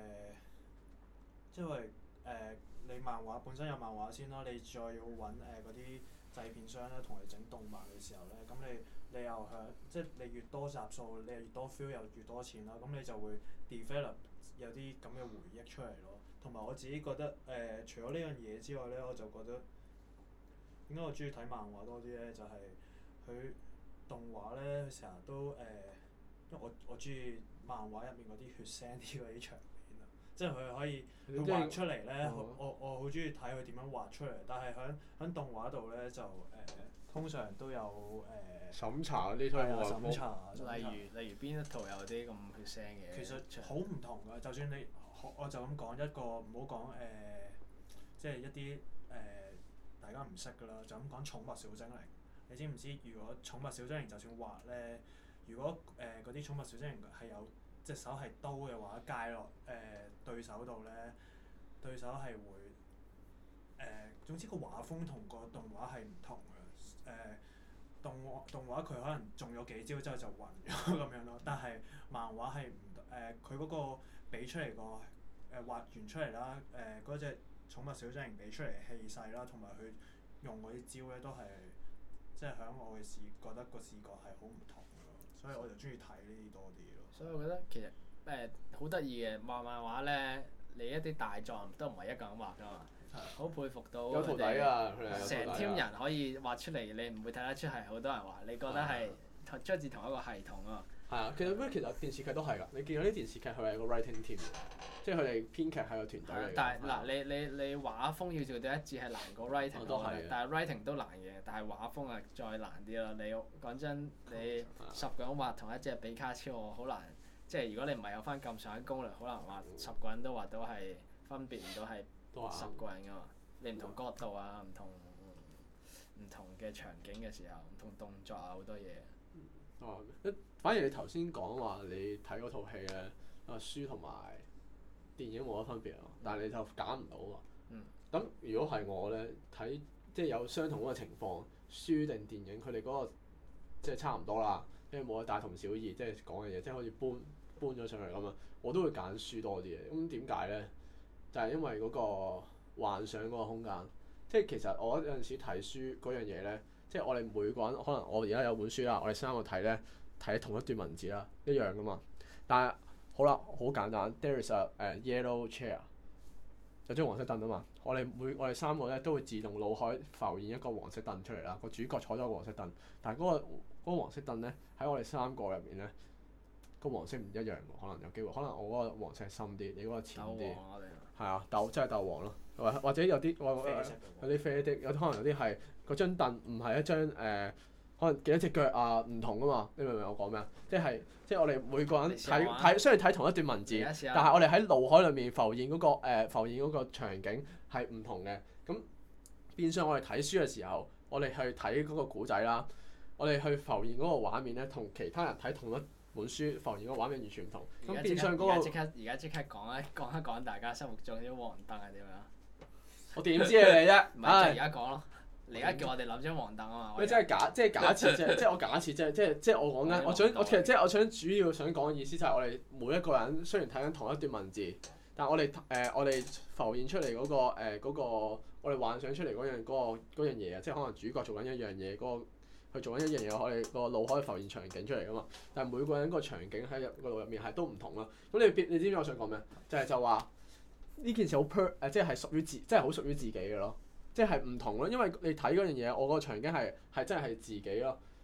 即係誒、呃、你漫畫本身有漫畫先啦，你再要揾誒嗰啲製片商咧同你整動漫嘅時候咧，咁你你又響即係你越多集數，你又越多 feel 又越多錢啦，咁你就會 develop 有啲咁嘅回憶出嚟咯。同埋我自己覺得誒、呃，除咗呢樣嘢之外咧，我就覺得點解我中意睇漫畫多啲咧？就係、是、佢動畫咧，佢成日都誒、呃，因為我我中意漫畫入面嗰啲血腥啲嗰啲場面啊，即係佢可以佢畫出嚟咧、 哦， 我我好中意睇佢點樣畫出嚟。但係喺喺動畫度咧就誒、呃，通常都有誒、呃、 審查嗰啲都係啊係審查，審查例如例如邊一套有啲咁血腥嘅？ 其實好唔同㗎，就算你我我就咁講一個，唔好講誒，即係一啲誒、呃、大家唔識㗎啦，就咁講寵物小精靈。你知唔知如果寵物小精靈就算畫咧，如果誒嗰啲寵物小精靈係有隻手係刀嘅話，界落誒、呃、對手度咧，對手係會誒、呃，總之個畫風同個動畫係唔同嘅。誒、呃、動畫動畫佢可能中咗幾招之後就暈咗咁樣咯，但係漫畫係唔誒佢嗰個俾出嚟個誒畫完出嚟啦，誒嗰隻寵物小精靈俾出嚟嘅氣勢啦，同埋佢用嗰啲招咧都係即係喺我嘅視覺得個視覺係好唔同嘅咯，所以我就中意睇呢啲多啲咯。 所以我覺得其實誒好得意嘅畫漫畫咧，你一啲大狀都唔係一個人畫㗎嘛，好佩服到有徒弟佢哋㗎，佢哋有徒弟成㗎 team 人可以畫出嚟，你唔會睇得出係好多人畫，你覺得係同出自同一個系統啊？ 係啊，其實咩？其實電視劇都係㗎。你見到啲電視劇佢係個 writing team 嘅，即係佢哋編劇係個團隊嚟嘅。 但係嗱， 係啊你你你畫風要做到一致係難過 writing 哦都係嘅我覺得但係 writing 都難嘅，但係畫風係再難啲咯。你講真，你十個人畫同一隻比卡超，我好難。即係如果你唔係有翻咁上下功力，好難畫十個人都畫到係分別唔到係都係十個人㗎嘛。你唔同角度啊，唔同唔同嘅場景嘅時候，唔同動作啊，好多嘢。 哦，一反而你頭先講話你睇嗰套戲咧，啊書同埋電影冇乜分別咯，但係你就揀唔到喎。 嗯。 咁如果係我咧睇，即係有相同嗰個情況，書定電影佢哋嗰個即係差唔多啦，因為冇得大同小異，即係講嘅嘢，即係好似搬搬咗上嚟咁啊，我都會揀書多啲嘅。咁點解咧？就係、是、因為嗰個幻想嗰個空間，即係其實我有陣時睇書嗰樣嘢咧。即係我哋每個人可能我而家有本書啦，我哋三個睇咧睇同一段文字啦，一樣噶嘛。但係好啦，好簡單 ，there is a、uh, yellow chair，有張黃色凳啊嘛。我哋每我哋三個咧都會自動腦海浮現一個黃色凳出嚟啦。個主角坐咗個黃色凳，但係嗰、嗰個嗰個黃色凳咧喺我哋三個入面咧，個黃色唔一樣喎。可能有機會，可能我嗰個黃色係深啲，你嗰個淺啲。 鬥黃我哋。 係啊，鬥真係鬥黃咯，或或者有啲我有啲啡的，有啲可能有啲係嗰張凳唔係一張誒、呃，可能幾多隻腳啊唔同噶嘛，你明唔明我講咩啊？即係即係我哋每個人睇睇雖然睇同一段文字，但係我哋喺腦海裏面浮現嗰、嗰個、呃、浮現嗰個場景係唔同嘅。咁變相我哋睇書嘅時候，我哋去睇嗰個古仔啦，我哋去浮現嗰個畫面咧，同其他人睇同一本書浮現嗰個畫面完全唔同。咁變相嗰、嗰個而家即刻而家即刻講一講一講大家心目中啲黃燈係點樣？ 我點知啊你啫？ 唔係就而家講咯。你而家叫我哋諗張黃燈啊嘛。 喂，即係假，即係假設啫，即係我假設啫，即係即係我講緊，我想我其實即係我想主要想講嘅意思就係我哋每一個人雖然睇緊同一段文字，但係我哋誒、呃、我哋浮現出嚟嗰、嗰個誒嗰、呃嗰個我哋幻想出嚟嗰樣嗰、嗰個嗰樣嘢啊，即係可能主角做緊一樣嘢，嗰、嗰個佢做緊一樣嘢，我哋個腦可以浮現場景出嚟噶嘛。但係每個人個場景喺入個腦入面係都唔同啦。咁你你知唔知我想講咩？就係、是、就話呢件事好 per 誒，即係屬於自，即係好屬於自己嘅咯。即係唔同咯，因為你睇嗰樣嘢，我個場景係係真係係自己咯。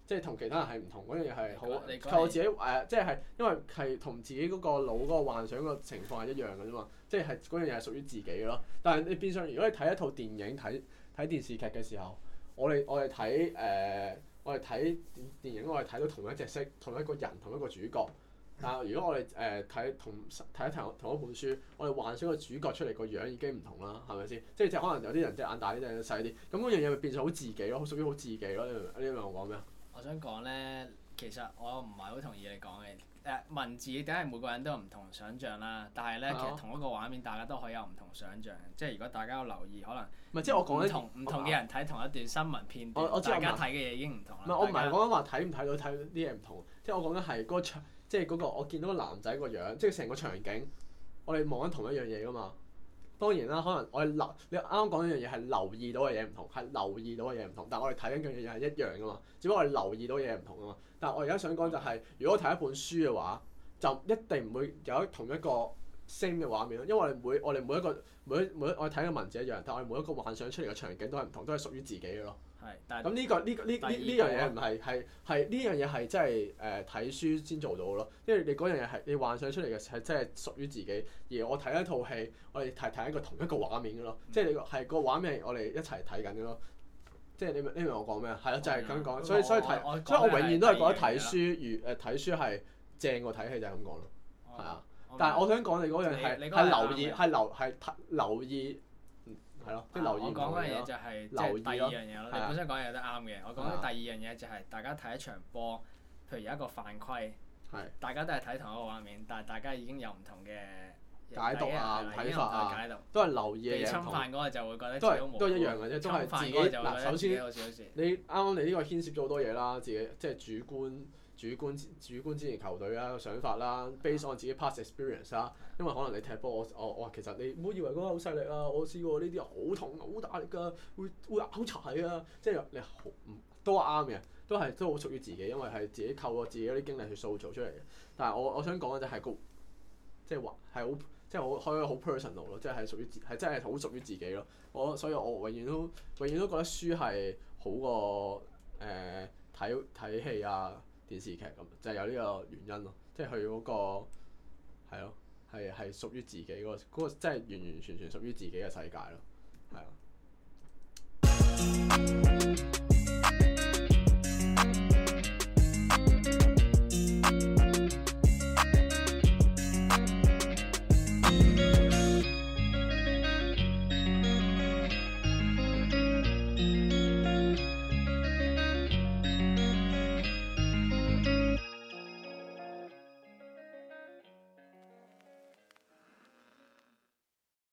即係同其他人係唔同嗰樣嘢係好你講靠我自己誒、呃，即係因為係同自己嗰個腦嗰個幻想個情況係一樣嘅啫嘛，即係係嗰樣嘢係屬於自己嘅咯。但係你變相如果你睇一套電影睇睇電視劇嘅時候，我哋我哋睇誒我哋睇電影，我哋睇到同一隻色、同一個人、同一個主角。但係如果我哋誒睇同睇一同同一本書，我哋幻想個主角出嚟個樣已經唔同啦，係咪先？即係即係可能有啲人隻眼大啲，隻眼細啲，咁嗰樣嘢咪變咗好自己咯，屬於好自己咯。你明你明我講咩啊？ 我想講咧，其實我唔係好同意你講嘅。誒文字梗係每個人都有唔同想像啦，但係咧、啊、其實同一個畫面大家都可以有唔同想像。即係如果大家有留意，可能唔係即係我講緊唔同唔同嘅人睇同一段新聞片段， 我我知大家睇嘅嘢已經唔同啦。 唔係我唔係講緊話睇唔睇到睇啲嘢唔同，即係我講緊係嗰個場，即係嗰個我見到個男仔個樣，即係成個場景，我哋望緊同一樣嘢噶嘛。當然啦，可能我哋留你啱啱講一樣嘢係留意到嘅嘢唔同，係留意到嘅嘢唔同，但係我哋睇緊嘅嘢係一樣噶嘛。只不過我哋留意到嘅嘢唔同啊嘛。但係我而家想講就係、是，如果我睇一本書嘅話，就一定唔會有同一個 same 嘅畫面咯。因為我哋每我哋每一個每一每一我哋睇嘅文字一樣，但係我哋每一個幻想出嚟嘅場景都係唔同，都係屬於自己嘅咯。 係，但係咁呢個呢個呢呢呢樣嘢唔係係係呢樣嘢係真係誒睇書先做到嘅咯，因為你嗰樣嘢係你幻想出嚟嘅係真係屬於自己，而我睇一套戲，我哋睇睇一個同一個畫面嘅咯，嗯、即係你係個畫面係我哋一齊睇緊嘅咯，即係你明你明我講咩啊？係咯，就係咁講，所以所以睇，所以我永遠都係覺得睇書如誒睇書係正過睇戲就係咁講咯，係啊，但係我想講你嗰樣係係留意係留係留意。係咯，即係留意。 我講嗰樣嘢就係即係第二樣嘢咯。你本身講嘢都啱嘅。我講緊第二樣嘢就係大家睇一場波，譬如有一個犯規，大家都係睇同一個畫面，但係大家已經有唔同嘅解讀啊、睇法啊，都係留意嘅嘢。 被侵犯嗰個就會覺得都係都係一樣嘅啫，都係自己嗱。首先，你啱啱你呢個牽涉咗好多嘢啦，自己即係主觀。主觀主觀支持球隊啦，個想法啦 ，base on 自己 past experience 啦。因為可能你踢波，我我我其實你唔好以為嗰個好細力啊，我試過呢啲好痛好大力㗎，會會拗柴啊，即係你好唔都啱嘅，都係都好屬於自己，因為係自己透過自己嗰啲經歷去塑造出嚟嘅。但係我我想講嘅就係個即係話係好即係好可以好 personal 咯，即係係屬於自係真係好屬於自己咯。我所以我永遠都永遠都覺得書係好過誒睇睇戲啊。電視劇咁就係、是、有呢個原因咯，即係佢嗰個係咯，係係屬於自己嗰、那個嗰、那個真係完完全全屬於自己嘅世界咯，係啊。